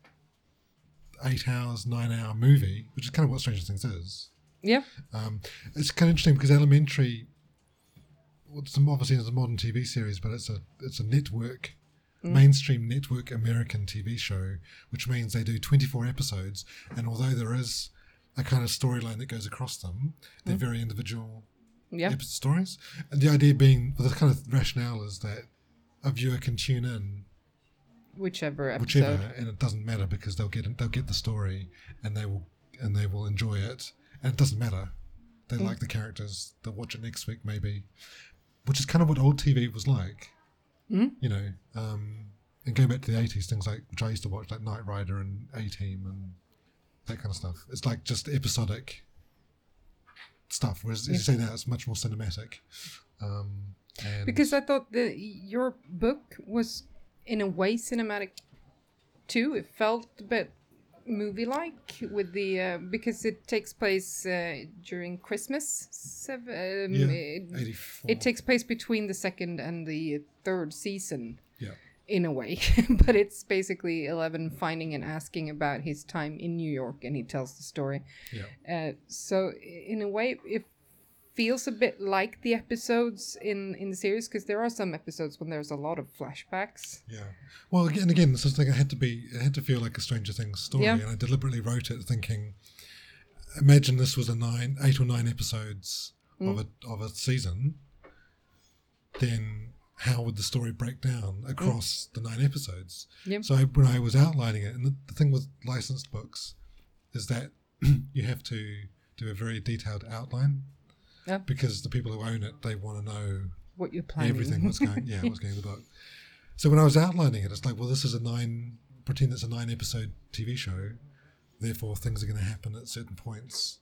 eight hours, nine hour movie, which is kind of what Stranger Things is. Yeah. Um, it's kind of interesting because Elementary, well, it's obviously it's a modern T V series, but it's a it's a network, mm. mainstream network American T V show, which means they do twenty-four episodes, and although there is a kind of storyline that goes across them, they're mm. very individual yeah. episode stories. And the idea being, well, the kind of rationale is that a viewer can tune in whichever episode, whichever, and it doesn't matter because they'll get they'll get the story, and they will and they will enjoy it. And it doesn't matter. They mm. like the characters. They'll watch it next week, maybe. Which is kind of what old T V was like. Mm. You know, um, and going back to the eighties, things like, which I used to watch, like Knight Rider and A-Team and that kind of stuff. It's like just episodic stuff. Whereas, yeah. as you say now, it's much more cinematic. Um, and because I thought that your book was, in a way, cinematic too. It felt a bit movie-like with the uh, because it takes place uh, during Christmas. Seven, um, yeah, it, eighty-four. It takes place between the second and the third season. Yeah. In a way, but it's basically Eleven finding and asking about his time in New York, and he tells the story. Yeah. Uh, so in a way, it feels a bit like the episodes in, in the series, because there are some episodes when there's a lot of flashbacks. Yeah. Well, again, again, this is thing. It had to be. It had to feel like a Stranger Things story, yeah. and I deliberately wrote it thinking, imagine this was a nine, eight or nine episodes mm. of a of a season. then how would the story break down across mm. the nine episodes? Yep. So I, when I was outlining it, and the, the thing with licensed books is that you have to do a very detailed outline yep. because the people who own it, they want to know what you're planning. Everything what's going, yeah, what's going in the book. So when I was outlining it, it's like, well, this is a nine, pretend it's a nine episode T V show, therefore things are going to happen at certain points,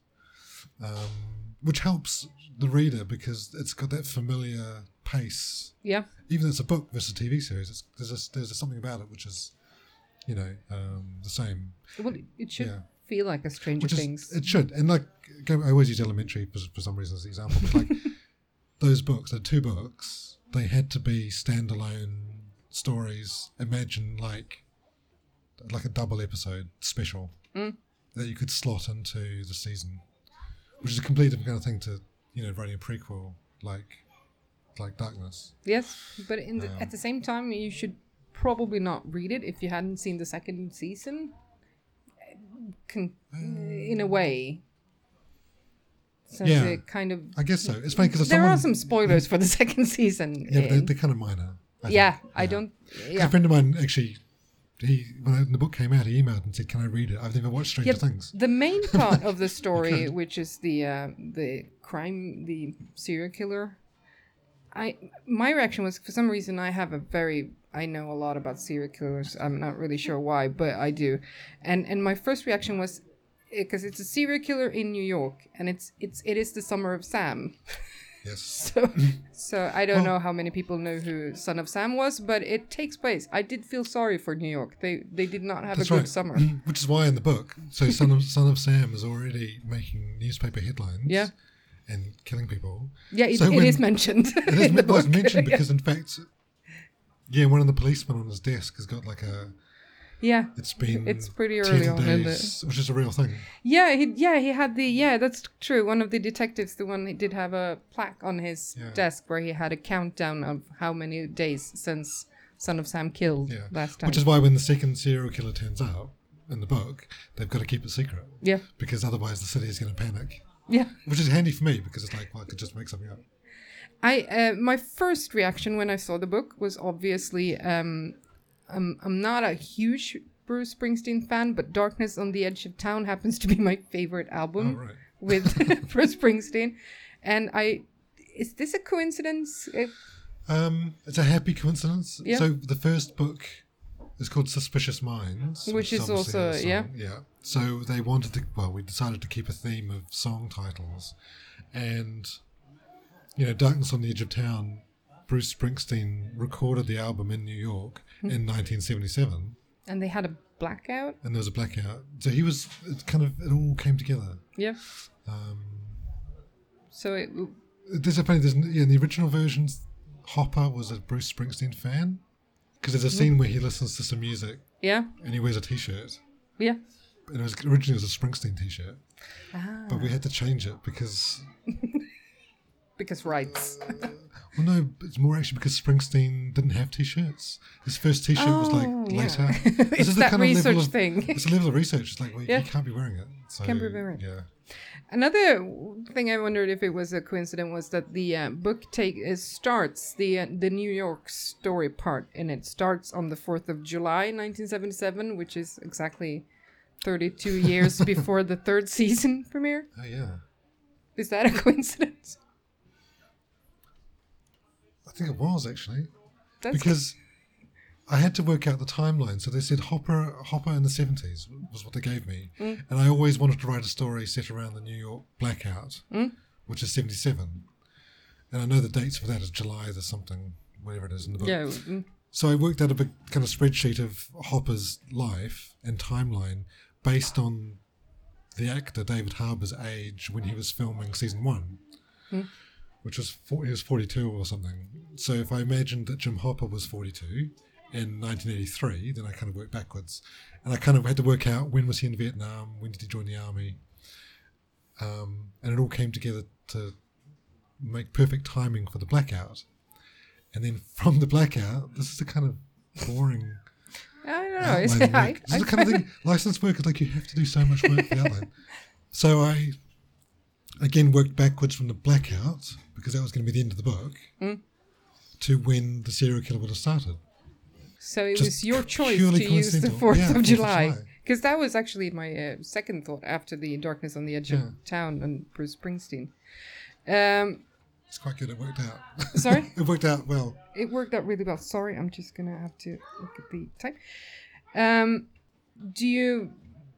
um, which helps the reader because it's got that familiar pace. Yeah. Even though it's a book versus a T V series, it's, there's a, there's a something about it which is, you know, um, the same. Well, it should yeah. feel like a Stranger which is, Things. It should. And like, I always use Elementary for, for some reason as an example, but like those books, the two books, they had to be standalone stories. Imagine like like a double episode special mm. that you could slot into the season, which is a completely different kind of thing to, you know, writing a prequel like like Darkness. Yes, but in the, um, at the same time, you should probably not read it if you hadn't seen the second season. Con- um, in a way. So yeah, it kind of. I guess so. It's funny because there someone, are some spoilers for the second season. Yeah, but they're, they're kind of minor. I yeah, think. I yeah. don't. Yeah. A friend of mine actually, he when the book came out, he emailed and said, "Can I read it? I've never watched Stranger yeah, Things." The main part of the story, which is the uh, the crime, the serial killer. I my reaction was, for some reason, I have a very I know a lot about serial killers. I'm not really sure why, but I do, and and my first reaction was, because it's a serial killer in New York, and it's it's it is the Summer of Sam. Yes. So so I don't well, know how many people know who Son of Sam was, but it takes place. I did feel sorry for New York. They they did not have a good right. summer. Which is why in the book, so Son of Son of Sam is already making newspaper headlines. Yeah. And killing people. Yeah, it, so it when, is mentioned. It is in the well, it's book. mentioned because in fact, yeah, one of the policemen on his desk has got like a. Yeah, it's been it's pretty early on in the, which is a real thing. Yeah, he yeah he had the yeah that's true. One of the detectives, the one he did have a plaque on his yeah. desk where he had a countdown of how many days since Son of Sam killed yeah. last time. Which is why when the second serial killer turns out in the book, they've got to keep it secret. Yeah, because otherwise the city is going to panic. Yeah, which is handy for me because it's like, well, I could just make something up. I uh, my first reaction when I saw the book was obviously um, I'm I'm not a huge Bruce Springsteen fan, but Darkness on the Edge of Town happens to be my favorite album oh, right. with Bruce Springsteen, and I is this a coincidence? It, um, it's a happy coincidence. Yeah. So the first book is called Suspicious Minds, which, which is also yeah yeah. So they wanted to, well, we decided to keep a theme of song titles. And, you know, Darkness on the Edge of Town, Bruce Springsteen recorded the album in New York mm-hmm. in nineteen seventy-seven. And they had a blackout? And there was a blackout. So he was, it kind of, it all came together. Yeah. Um, so it... There's a funny, there's, yeah, in the original versions, Hopper was a Bruce Springsteen fan. Because there's a scene mm-hmm. where he listens to some music. Yeah. And he wears a T-shirt. Yeah. And it was originally it was a Springsteen T-shirt, ah. but we had to change it because because rights. uh, well, no, it's more actually because Springsteen didn't have T-shirts. His first T-shirt oh, was like yeah. later. It's this is that the kind research of level of, thing. It's a level of research. It's like, well, yeah. you can't be wearing it. So, can't be wearing it. Yeah. Another thing I wondered if it was a coincidence was that the uh, book take uh, starts the uh, the New York story part, and it starts on the fourth of July, nineteen seventy-seven, which is exactly thirty-two years before the third season premiere. Oh yeah. Is that a coincidence? I think it was actually That's because I had to work out the timeline. So they said Hopper Hopper in the seventies was what they gave me. Mm. And I always wanted to write a story set around the New York blackout, mm. which is seventy-seven. And I know the dates for that is July the something, whatever it is in the book. Yeah. Mm. So I worked out a big kind of spreadsheet of Hopper's life and timeline based on the actor David Harbour's age when he was filming season one. Mm. Which was, four, he was forty-two or something. So if I imagined that Jim Hopper was forty-two in nineteen eighty-three, then I kind of worked backwards. And I kind of had to work out when was he in Vietnam, when did he join the army. Um, and it all came together to make perfect timing for the blackout. And then from the blackout, this is the kind of boring I don't know. outline Is work. it, I, This is the kind of thing, licensed work is like you have to do so much work for the outline. So I, again, worked backwards from the blackout, because that was going to be the end of the book. Mm. to when the serial killer would have started. So it Just was your choice purely to use the coincidental. fourth Yeah, of fourth of July. July. Because that was actually my uh, second thought after the Darkness on the Edge Yeah. of Town and Bruce Springsteen. Um, It's quite good. It worked out. Sorry? It worked out well. it worked out really well. Sorry, I'm just going to have to look at the time. Um, do you...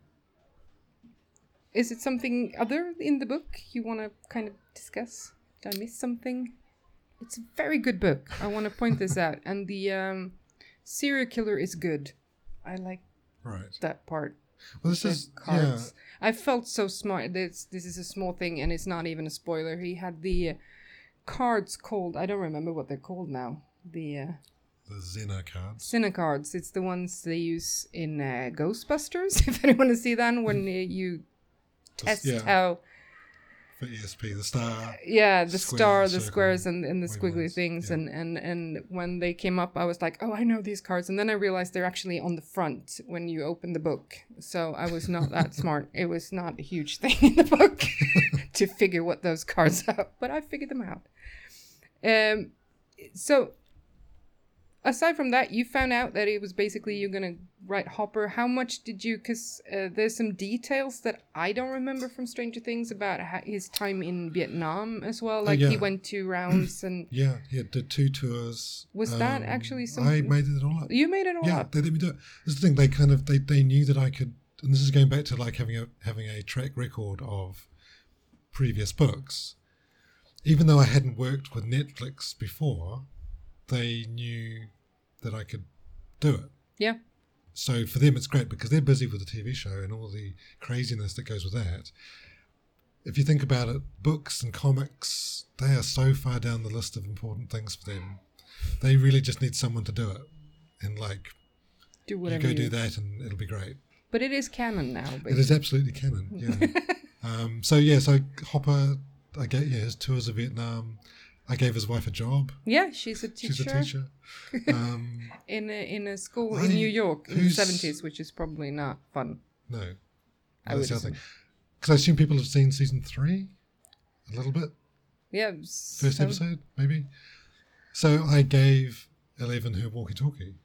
Is it something other in the book you want to kind of discuss? Did I miss something? It's a very good book. I want to point this out. And the um, serial killer is good. I like Right. that part. Well, this The is cards. I felt so smart. This this is a small thing, and it's not even a spoiler. He had the uh, cards called. I don't remember what they're called now. The uh, yeah the Xena cards. Cine cards. It's the ones they use in uh, Ghostbusters. If anyone has seen that, when uh, you test yeah. how. For E S P, the star. Yeah, the Square, star, the circle, squares, and, and the squiggly wavelengths, things, yeah. and, and, and when they came up, I was like, oh, I know these cards, and then I realized they're actually on the front when you open the book. So I was not that smart. It was not a huge thing in the book to figure what those cards are, but I figured them out. Um, so aside from that, you found out that it was basically you're gonna write Hopper. How much did you? Because uh, there's some details that I don't remember from Stranger Things about ha- his time in Vietnam as well. Like yeah. he went two rounds, and Yeah, he did two tours. Was that actually I something- made it all up. you made it all Yeah, up. they let me do it. This is the thing. They kind of they, they knew that I could, and this is going back to like having a having a track record of previous books. Even though I hadn't worked with Netflix before, they knew that I could do it. Yeah. So for them, it's great because they're busy with the T V show and all the craziness that goes with that. If you think about it, books and comics, they are so far down the list of important things for them. They really just need someone to do it. And like, Do you whatever go you do that and it'll be great. But it is canon now. It Basically. is absolutely canon, yeah. um, so yeah, so Hopper, I gave yeah, his tours of Vietnam. I gave his wife a job. Yeah, she's a teacher. She's a teacher. Um, in a, in a school I- in New York in the who's- seventies, which is probably not fun. no, I that's would the other assume. thing. Because I assume people have seen season three, a little bit. Yeah. First so- episode, maybe. So I gave Eleven her walkie-talkie.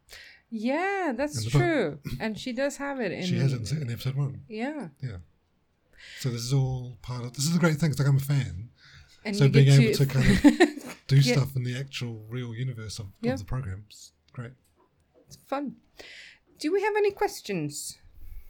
Yeah, that's In the book. true. And she does have it in. She has it in, in episode one. Yeah. Yeah. So this is all part of. This is the great thing. It's like I'm a fan. And So you being get able to kind of do Yeah. stuff in the actual real universe of, Yeah. of the programs, great. It's fun. Do we have any questions?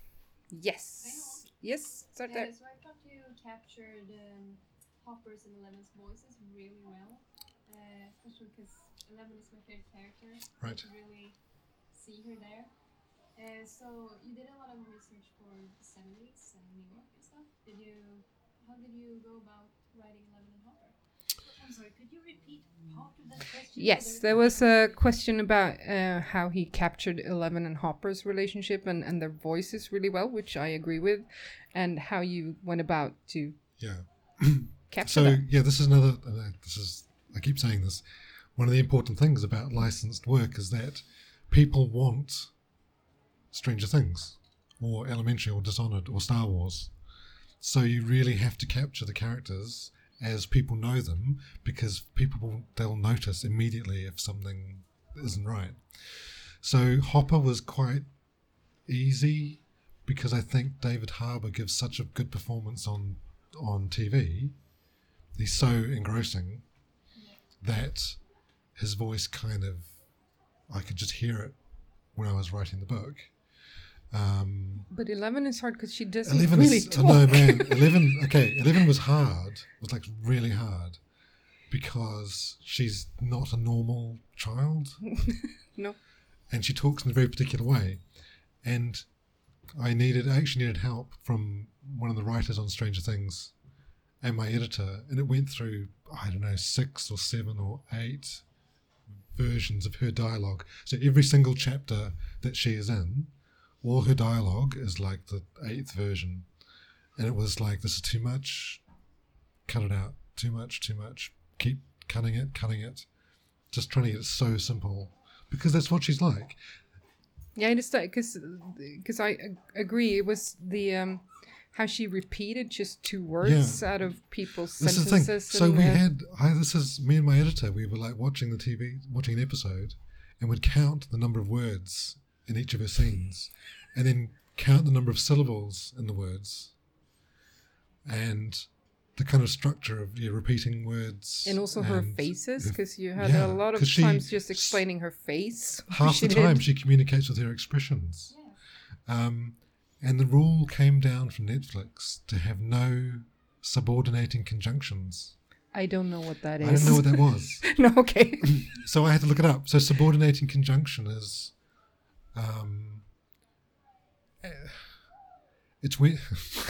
Yes. Yes. Start there. Yeah, so I thought you captured um, Hopper's and Eleven's voices really well, uh, especially because Eleven is my favorite character. Right. I really see her there. Uh, so you did a lot of research for the seventies and New York and stuff. Did you? How did you go about writing Eleven and Hopper? I'm sorry, could you repeat part of that question? Yes, there was a question about uh, how he captured Eleven and Hopper's relationship and, and their voices really well, which I agree with, and how you went about to Yeah. capture So that. yeah, this is another. Uh, this is. I keep saying this. One of the important things about licensed work is that people want Stranger Things, or Elementary, or Dishonored, or Star Wars. So you really have to capture the characters as people know them, because people will, they'll notice immediately if something isn't right. So Hopper was quite easy because I think David Harbour gives such a good performance on on T V. He's so engrossing that his voice kind of, I could just hear it when I was writing the book. Um, But Eleven is hard because she doesn't Eleven really is, talk. oh no man, Eleven, okay, Eleven was hard, was like really hard because she's not a normal child No. and she talks in a very particular way. And I needed, I actually needed help from one of the writers on Stranger Things and my editor, and it went through, I don't know, six or seven or eight versions of her dialogue. So every single chapter that she is in, all her dialogue is like the eighth version. And it was like, this is too much, cut it out, too much, too much, keep cutting it, cutting it. Just trying to get it so simple, because that's what she's like. Yeah, I understand because because I ag- agree. It was the um, how she repeated just two words Yeah. out of people's This is the thing. sentences. So and, we uh, had, I, this is me and my editor, we were like watching the T V, watching an episode, and would count the number of words in each of her scenes, and then count the number of syllables in the words, and the kind of structure of yeah, repeating words. and also her and faces, the- because you had yeah, a lot of 'cause she- times just explaining her face. half She the did. time she communicates with her expressions. Um, and the rule came down from Netflix to have no subordinating conjunctions. I don't know what that is. I didn't know what that was. No, okay. So I had to look it up. So subordinating conjunction is, um, eh, it's weird.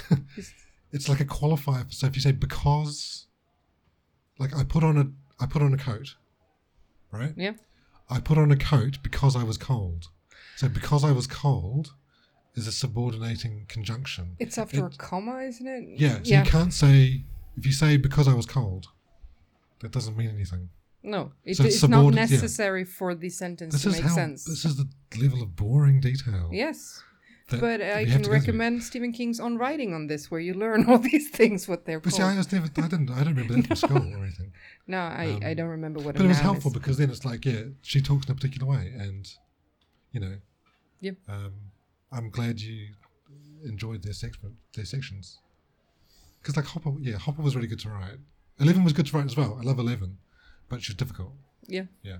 It's like a qualifier. So if you say because, like I put on a, I put on a coat, right? Yeah. I put on a coat because I was cold. So because I was cold is a subordinating conjunction. It's after It- a comma, isn't it? Yeah. So yeah. you can't say, if you say because I was cold, that doesn't mean anything. No, it, So it's it's not subordin- yeah. necessary for the sentence This to is make how, sense. this is the level of boring detail. Yes. that But we I have can to go through. recommend Stephen King's On Writing on this, where you learn all these things, what they're But called. see, I was never, I didn't, I don't remember that from school or anything. no, I, um, I don't remember what a But it was noun helpful is. because then it's like, yeah, she talks in a particular way, and you know, Yep. um, I'm glad you enjoyed their section, their sections, because like Hopper, yeah, Hopper was really good to write. Eleven was good to write as well. I love Eleven, but she was difficult. Yeah. Yeah.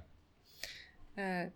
Uh,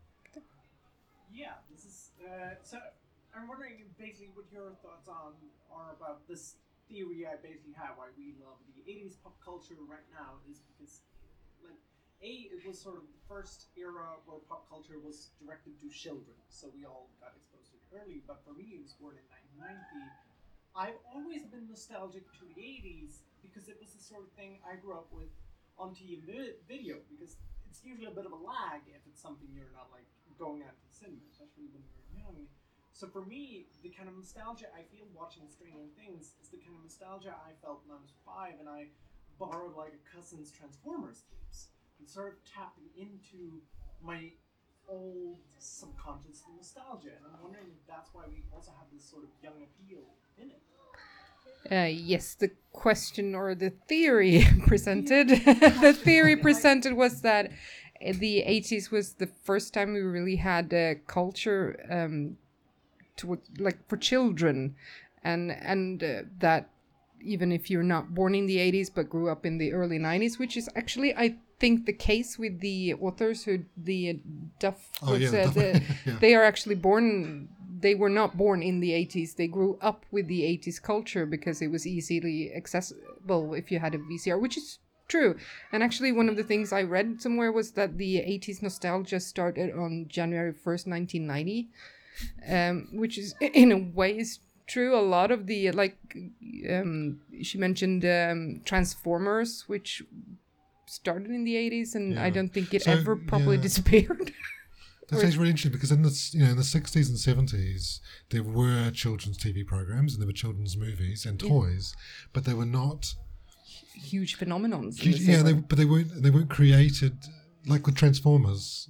Yeah, this is. Uh, so I'm wondering basically what your thoughts on are about this theory I basically have why we love the eighties pop culture right now is because, like, A, it was sort of the first era where pop culture was directed to children, so we all got exposed to it early. But for me, it was born in nineteen ninety. I've always been nostalgic to the eighties because it was the sort of thing I grew up with on T V video, because it's usually a bit of a lag if it's something you're not like going out to the cinema, especially when you're young. So for me, the kind of nostalgia I feel watching Stranger Things is the kind of nostalgia I felt when I was five and I borrowed like a cousin's Transformers tapes and sort of tapping into my old subconscious nostalgia. And I'm wondering if that's why we also have this sort of young appeal in it. Uh, yes, the question or the theory presented, the theory presented was that the eighties was the first time we really had a culture um, to like for children, and and uh, that even if you're not born in the eighties but grew up in the early nineties, which is actually I think the case with the authors who the Duff, Oh, yeah, was, the uh, Duff- the, yeah. they are actually born. They were not born in the eighties. They grew up with the eighties culture because it was easily accessible if you had a V C R, which is true. And actually, one of the things I read somewhere was that the eighties nostalgia started on January first, nineteen ninety, um, which is in a way is true. A lot of the, like, um, she mentioned um, Transformers, which started in the eighties, and I Yeah. don't think it So, ever properly yeah. disappeared. That's actually really interesting because in the you know in the sixties and seventies there were children's T V programs and there were children's movies and toys, but they were not. Huge phenomenons. in Huge, the same yeah, they, way. but they weren't they weren't created like with Transformers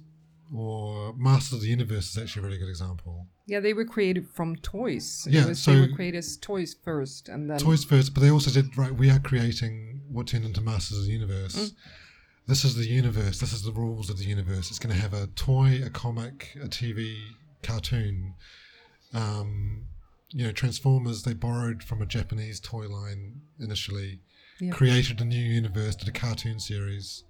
or Masters of the Universe is actually a really good example. Yeah, they were created from toys. Yeah, it was, so- they were created as toys first, and then Toys first, but they also said right we are creating what turned into Masters of the Universe. Mm. This is the universe. This is the rules of the universe. It's going to have a toy, a comic, a T V cartoon. Um, you know, Transformers. They borrowed from a Japanese toy line initially, Yeah. created a new universe, did a cartoon series.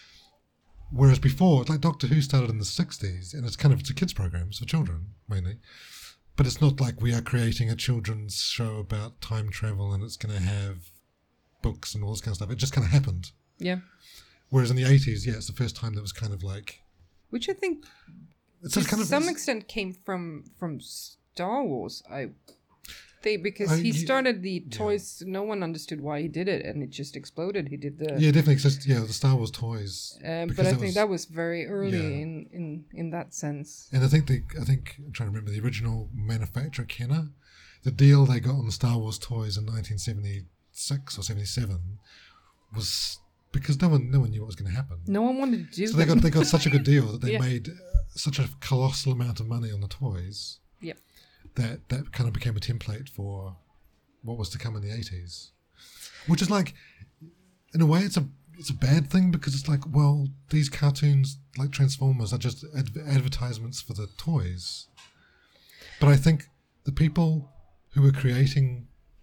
Whereas before, like Doctor Who started in the sixties, and it's kind of it's a kids program, it's for children mainly. But it's not like we are creating a children's show about time travel and it's going to have books and all this kind of stuff. It just kind of happened. yeah, Whereas in the eighties, yeah, it's the first time that was kind of like which I think it's to just kind of some extent came from from Star Wars. I think because I- he ye- started the toys, no one understood why he did it, and it just exploded. He did the, yeah, definitely. 'Cause, yeah, the Star Wars toys. um, because but I that think was- that was very early yeah. in, in in that sense. And I think the I think I'm trying to remember the original manufacturer, Kenner. The deal they got on the Star Wars toys in nineteen seventy-six or seventy-seven was because no one no one knew what was going to happen. No one wanted to do So they them. got they got such a good deal that they Yeah. made uh, such a colossal amount of money on the toys. Yeah. That that kind of became a template for what was to come in the eighties, which is like, in a way, it's a it's a bad thing because it's like, well, these cartoons like Transformers are just ad- advertisements for the toys. But I think the people who were creating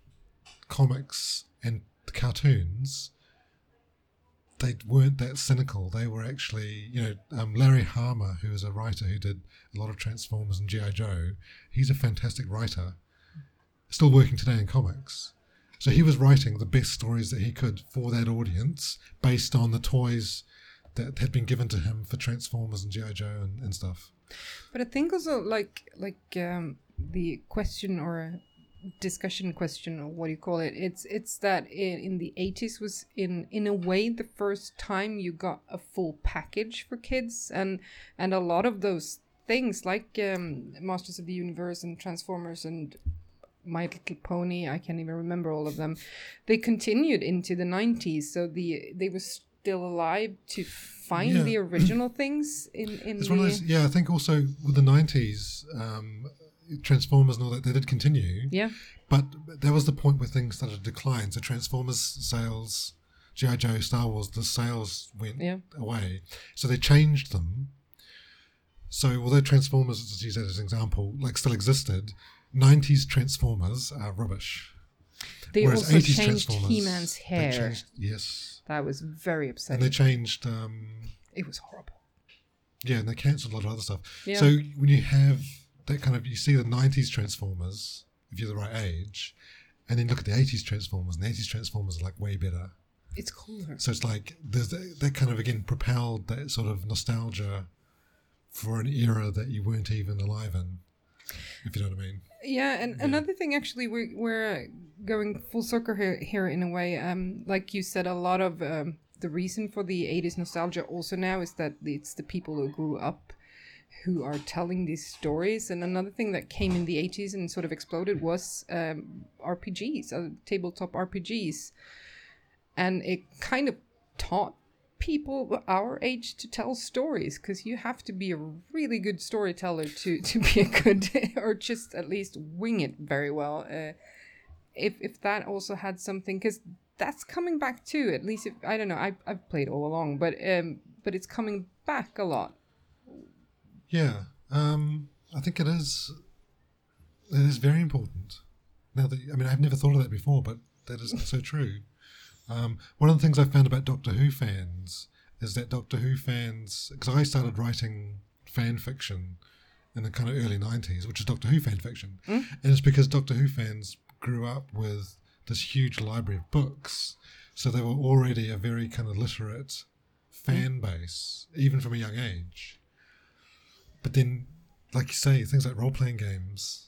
comics and the cartoons, they weren't that cynical. They were actually, you know, um, Larry Hama, who is a writer who did a lot of Transformers and G I. Joe, he's a fantastic writer, still working today in comics. So he was writing the best stories that he could for that audience based on the toys that had been given to him for Transformers and G I. Joe and, and stuff. But I think also like like um, the question or discussion question or what do you call it? It's it's that in, in the eighties was in in a way the first time you got a full package for kids, and and a lot of those things like um, Masters of the Universe and Transformers and My Little Pony, I can't even remember all of them. They continued into the nineties, so the they were still alive to find Yeah. the original things in in It's the one of those, yeah, I think also with the nineties, um, Transformers and all that, they did continue. yeah. But there was the point where things started to decline. So Transformers sales, G I. Joe, Star Wars, the sales went Yeah. away. So they changed them. So although Transformers, let's use that as an example, like still existed, nineties Transformers are rubbish. They Whereas also eighties changed Transformers, He-Man's they hair. changed- yes. That was very And upsetting. they changed, um, It was horrible. yeah, and they cancelled a lot of other stuff. Yeah. So when you have that kind of, you see the nineties Transformers, if you're the right age, and then look at the eighties Transformers, and the eighties Transformers are like way better. It's cooler. So it's like there's that, that kind of again propelled that sort of nostalgia for an era that you weren't even alive in, if you know what I mean. Yeah, and Yeah. another thing, actually, we're we're going full circle here, here in a way. Um, like you said, a lot of um, the reason for the eighties nostalgia also now is that it's the people who grew up who are telling these stories. And another thing that came in the eighties and sort of exploded was um, R P Gs, uh, tabletop R P Gs, and it kind of taught people our age to tell stories, because you have to be a really good storyteller to to be a good or just at least wing it very well. Uh, if if that also had something, because that's coming back too. At least if I don't know, I I've played all along, but um but it's coming back a lot. Yeah, um, I think it is. It is very important. Now that I mean, I've never thought of that before, but that is so true. Um, one of the things I found about Doctor Who fans is that Doctor Who fans, because I started writing fan fiction in the kind of early nineties, which is Doctor Who fan fiction, Mm. and it's because Doctor Who fans grew up with this huge library of books, so they were already a very kind of literate fan base, even from a young age. But then, like you say, things like role-playing games,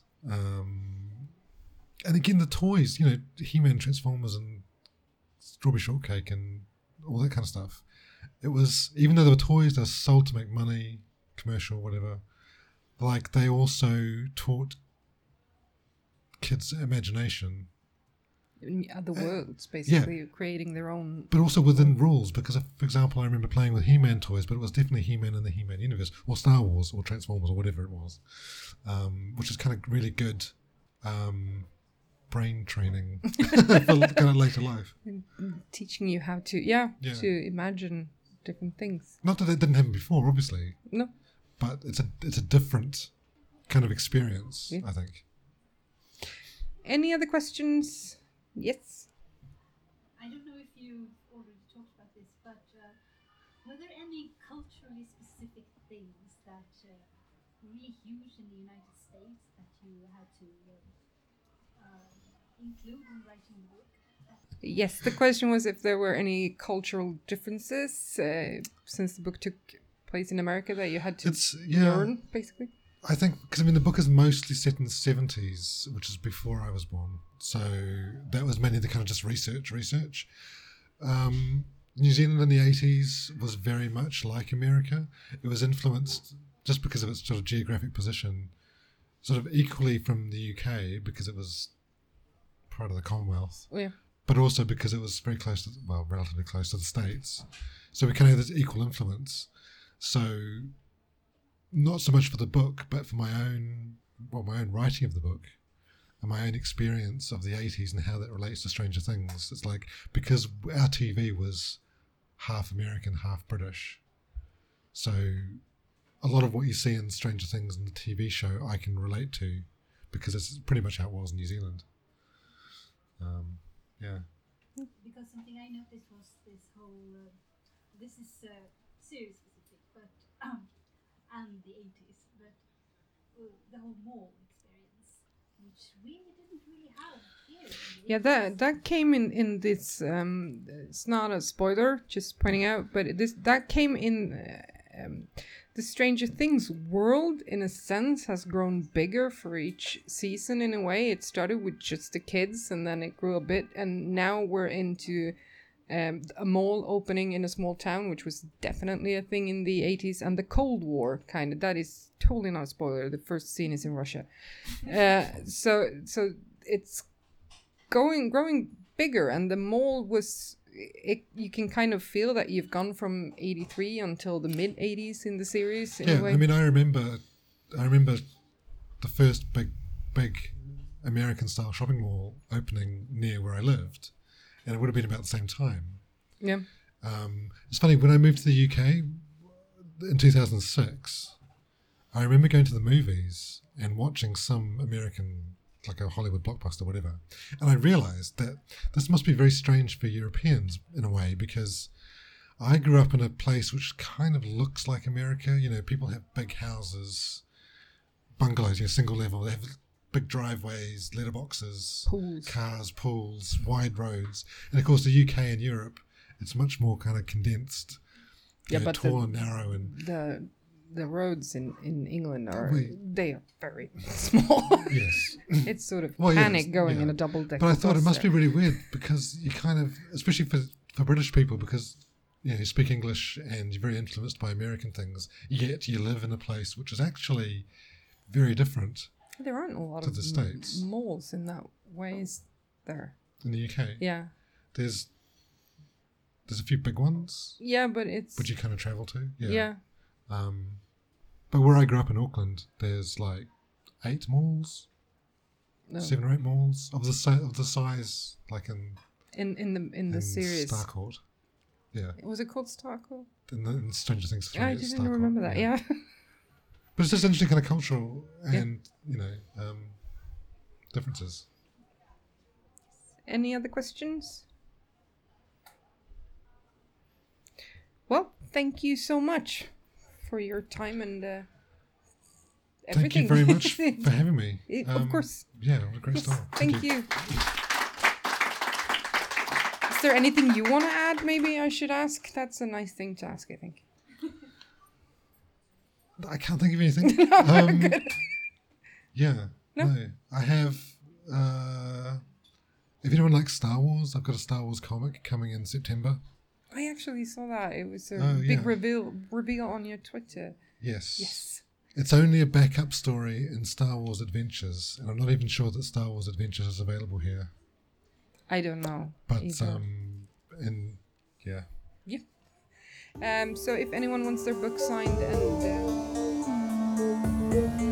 um, and again the toys, you know, He-Man, Transformers, and Strawberry Shortcake, and all that kind of stuff. It was, even though they were toys, they were sold to make money, commercial, whatever. Like they also taught kids imagination, In other Uh, worlds, basically creating their own. but also within rules. Because, if, for example, I remember playing with He-Man toys, but it was definitely He-Man in the He-Man universe, or Star Wars, or Transformers, or whatever it was, um, which is kind of really good um, brain training for kind of later life. Teaching you how to, yeah, Yeah. to imagine different things. Not that it didn't happen before, obviously, No, but it's a it's a different kind of experience, Yeah. I think. any other questions? Yes. I don't know if you've already talked about this, but uh, were there any culturally specific things that uh, were really huge in the United States that you had to uh, uh, include in writing the book? Yes, the question was if there were any cultural differences uh, since the book took place in America that you had to It's yeah. learn, basically. I think because I mean the book is mostly set in the seventies, which is before I was born. So that was mainly the kind of just research, research. Um, New Zealand in the eighties was very much like America. It was influenced just because of its sort of geographic position, sort of equally from the U K because it was part of the Commonwealth, Oh, yeah. but also because it was very close to, well, relatively close to the States. So we kind of had this equal influence. So not so much for the book, but for my own, well, my own writing of the book. and my own experience of the eighties and how that relates to Stranger Things. It's like, because our T V was half American, half British. So a lot of what you see in Stranger Things in the T V show, I can relate to, because it's pretty much how it was in New Zealand. Um, yeah. Because something I noticed was this whole, uh, this is uh, series specific, but um, and the eighties, but uh, the whole mall experience, which we didn't really have here. in the Yeah, eighties. that that came in in this. Um, it's not a spoiler, just pointing out, but this that came in. Uh, um, the Stranger Things world, in a sense, has grown bigger for each season. In a way, it started with just the kids, and then it grew a bit, and now we're into um, a mall opening in a small town, which was definitely a thing in the eighties, and the Cold War kind of. That is totally not a spoiler. The first scene is in Russia, uh, so so it's going growing bigger, and the mall was. It, you can kind of feel that you've gone from eighty-three until the mid eighties in the series. In Yeah, a way. I mean, I remember, I remember the first big, big American-style shopping mall opening near where I lived, and it would have been about the same time. Yeah. Um, it's funny, when I moved to the U K in two thousand six, I remember going to the movies and watching some American, like a Hollywood blockbuster, whatever, and I realised that this must be very strange for Europeans in a way, because I grew up in a place which kind of looks like America. You know, people have big houses, bungalows, you know, single level. They have big driveways, letterboxes, Pools. cars, pools, wide roads, and of course the U K and Europe, it's much more kind of condensed, you Yeah, know, but tall the- and narrow, and The the roads in, in England are Wait. they are very small. yes. It's sort of Well, yes, panic going yeah. in a double decker. But I thought it must be really weird, because you kind of, especially for, for British people, because you know, you speak English and you're very influenced by American things, yet you live in a place which is actually very different There aren't a lot to of the m- States. malls in that way, is there? in the U K. Yeah. There's there's a few big ones Yeah, but it's which you kind of travel to. Yeah. yeah. Um, but where I grew up in Auckland, there's like eight malls, No. seven or eight malls of the si- of the size like in In in the in the in series. Starcourt. Yeah, Was it called Starco? in, the, in Stranger Things three. I it's didn't Starcourt, remember that. Yeah. But it's just interesting kind of cultural Yeah. and, you know, um, differences. Any other questions? Well, thank you so much for your time and uh, everything. Thank you very much for having me. It- Um, of course. Yeah, what a great Yes, start. thank you. Is there anything you want to add? Maybe I should ask. That's a nice thing to ask, I think. I can't think of anything. um, yeah, No? no. I have, uh, if anyone likes Star Wars, I've got a Star Wars comic coming in September. I actually saw that. It was a Oh, big yeah. reveal reveal on your Twitter. Yes. Yes. It's only a backup story in Star Wars Adventures, and I'm not even sure that Star Wars Adventures is available here. I don't know. But, either. um, and yeah. Um, so if anyone wants their book signed and uh,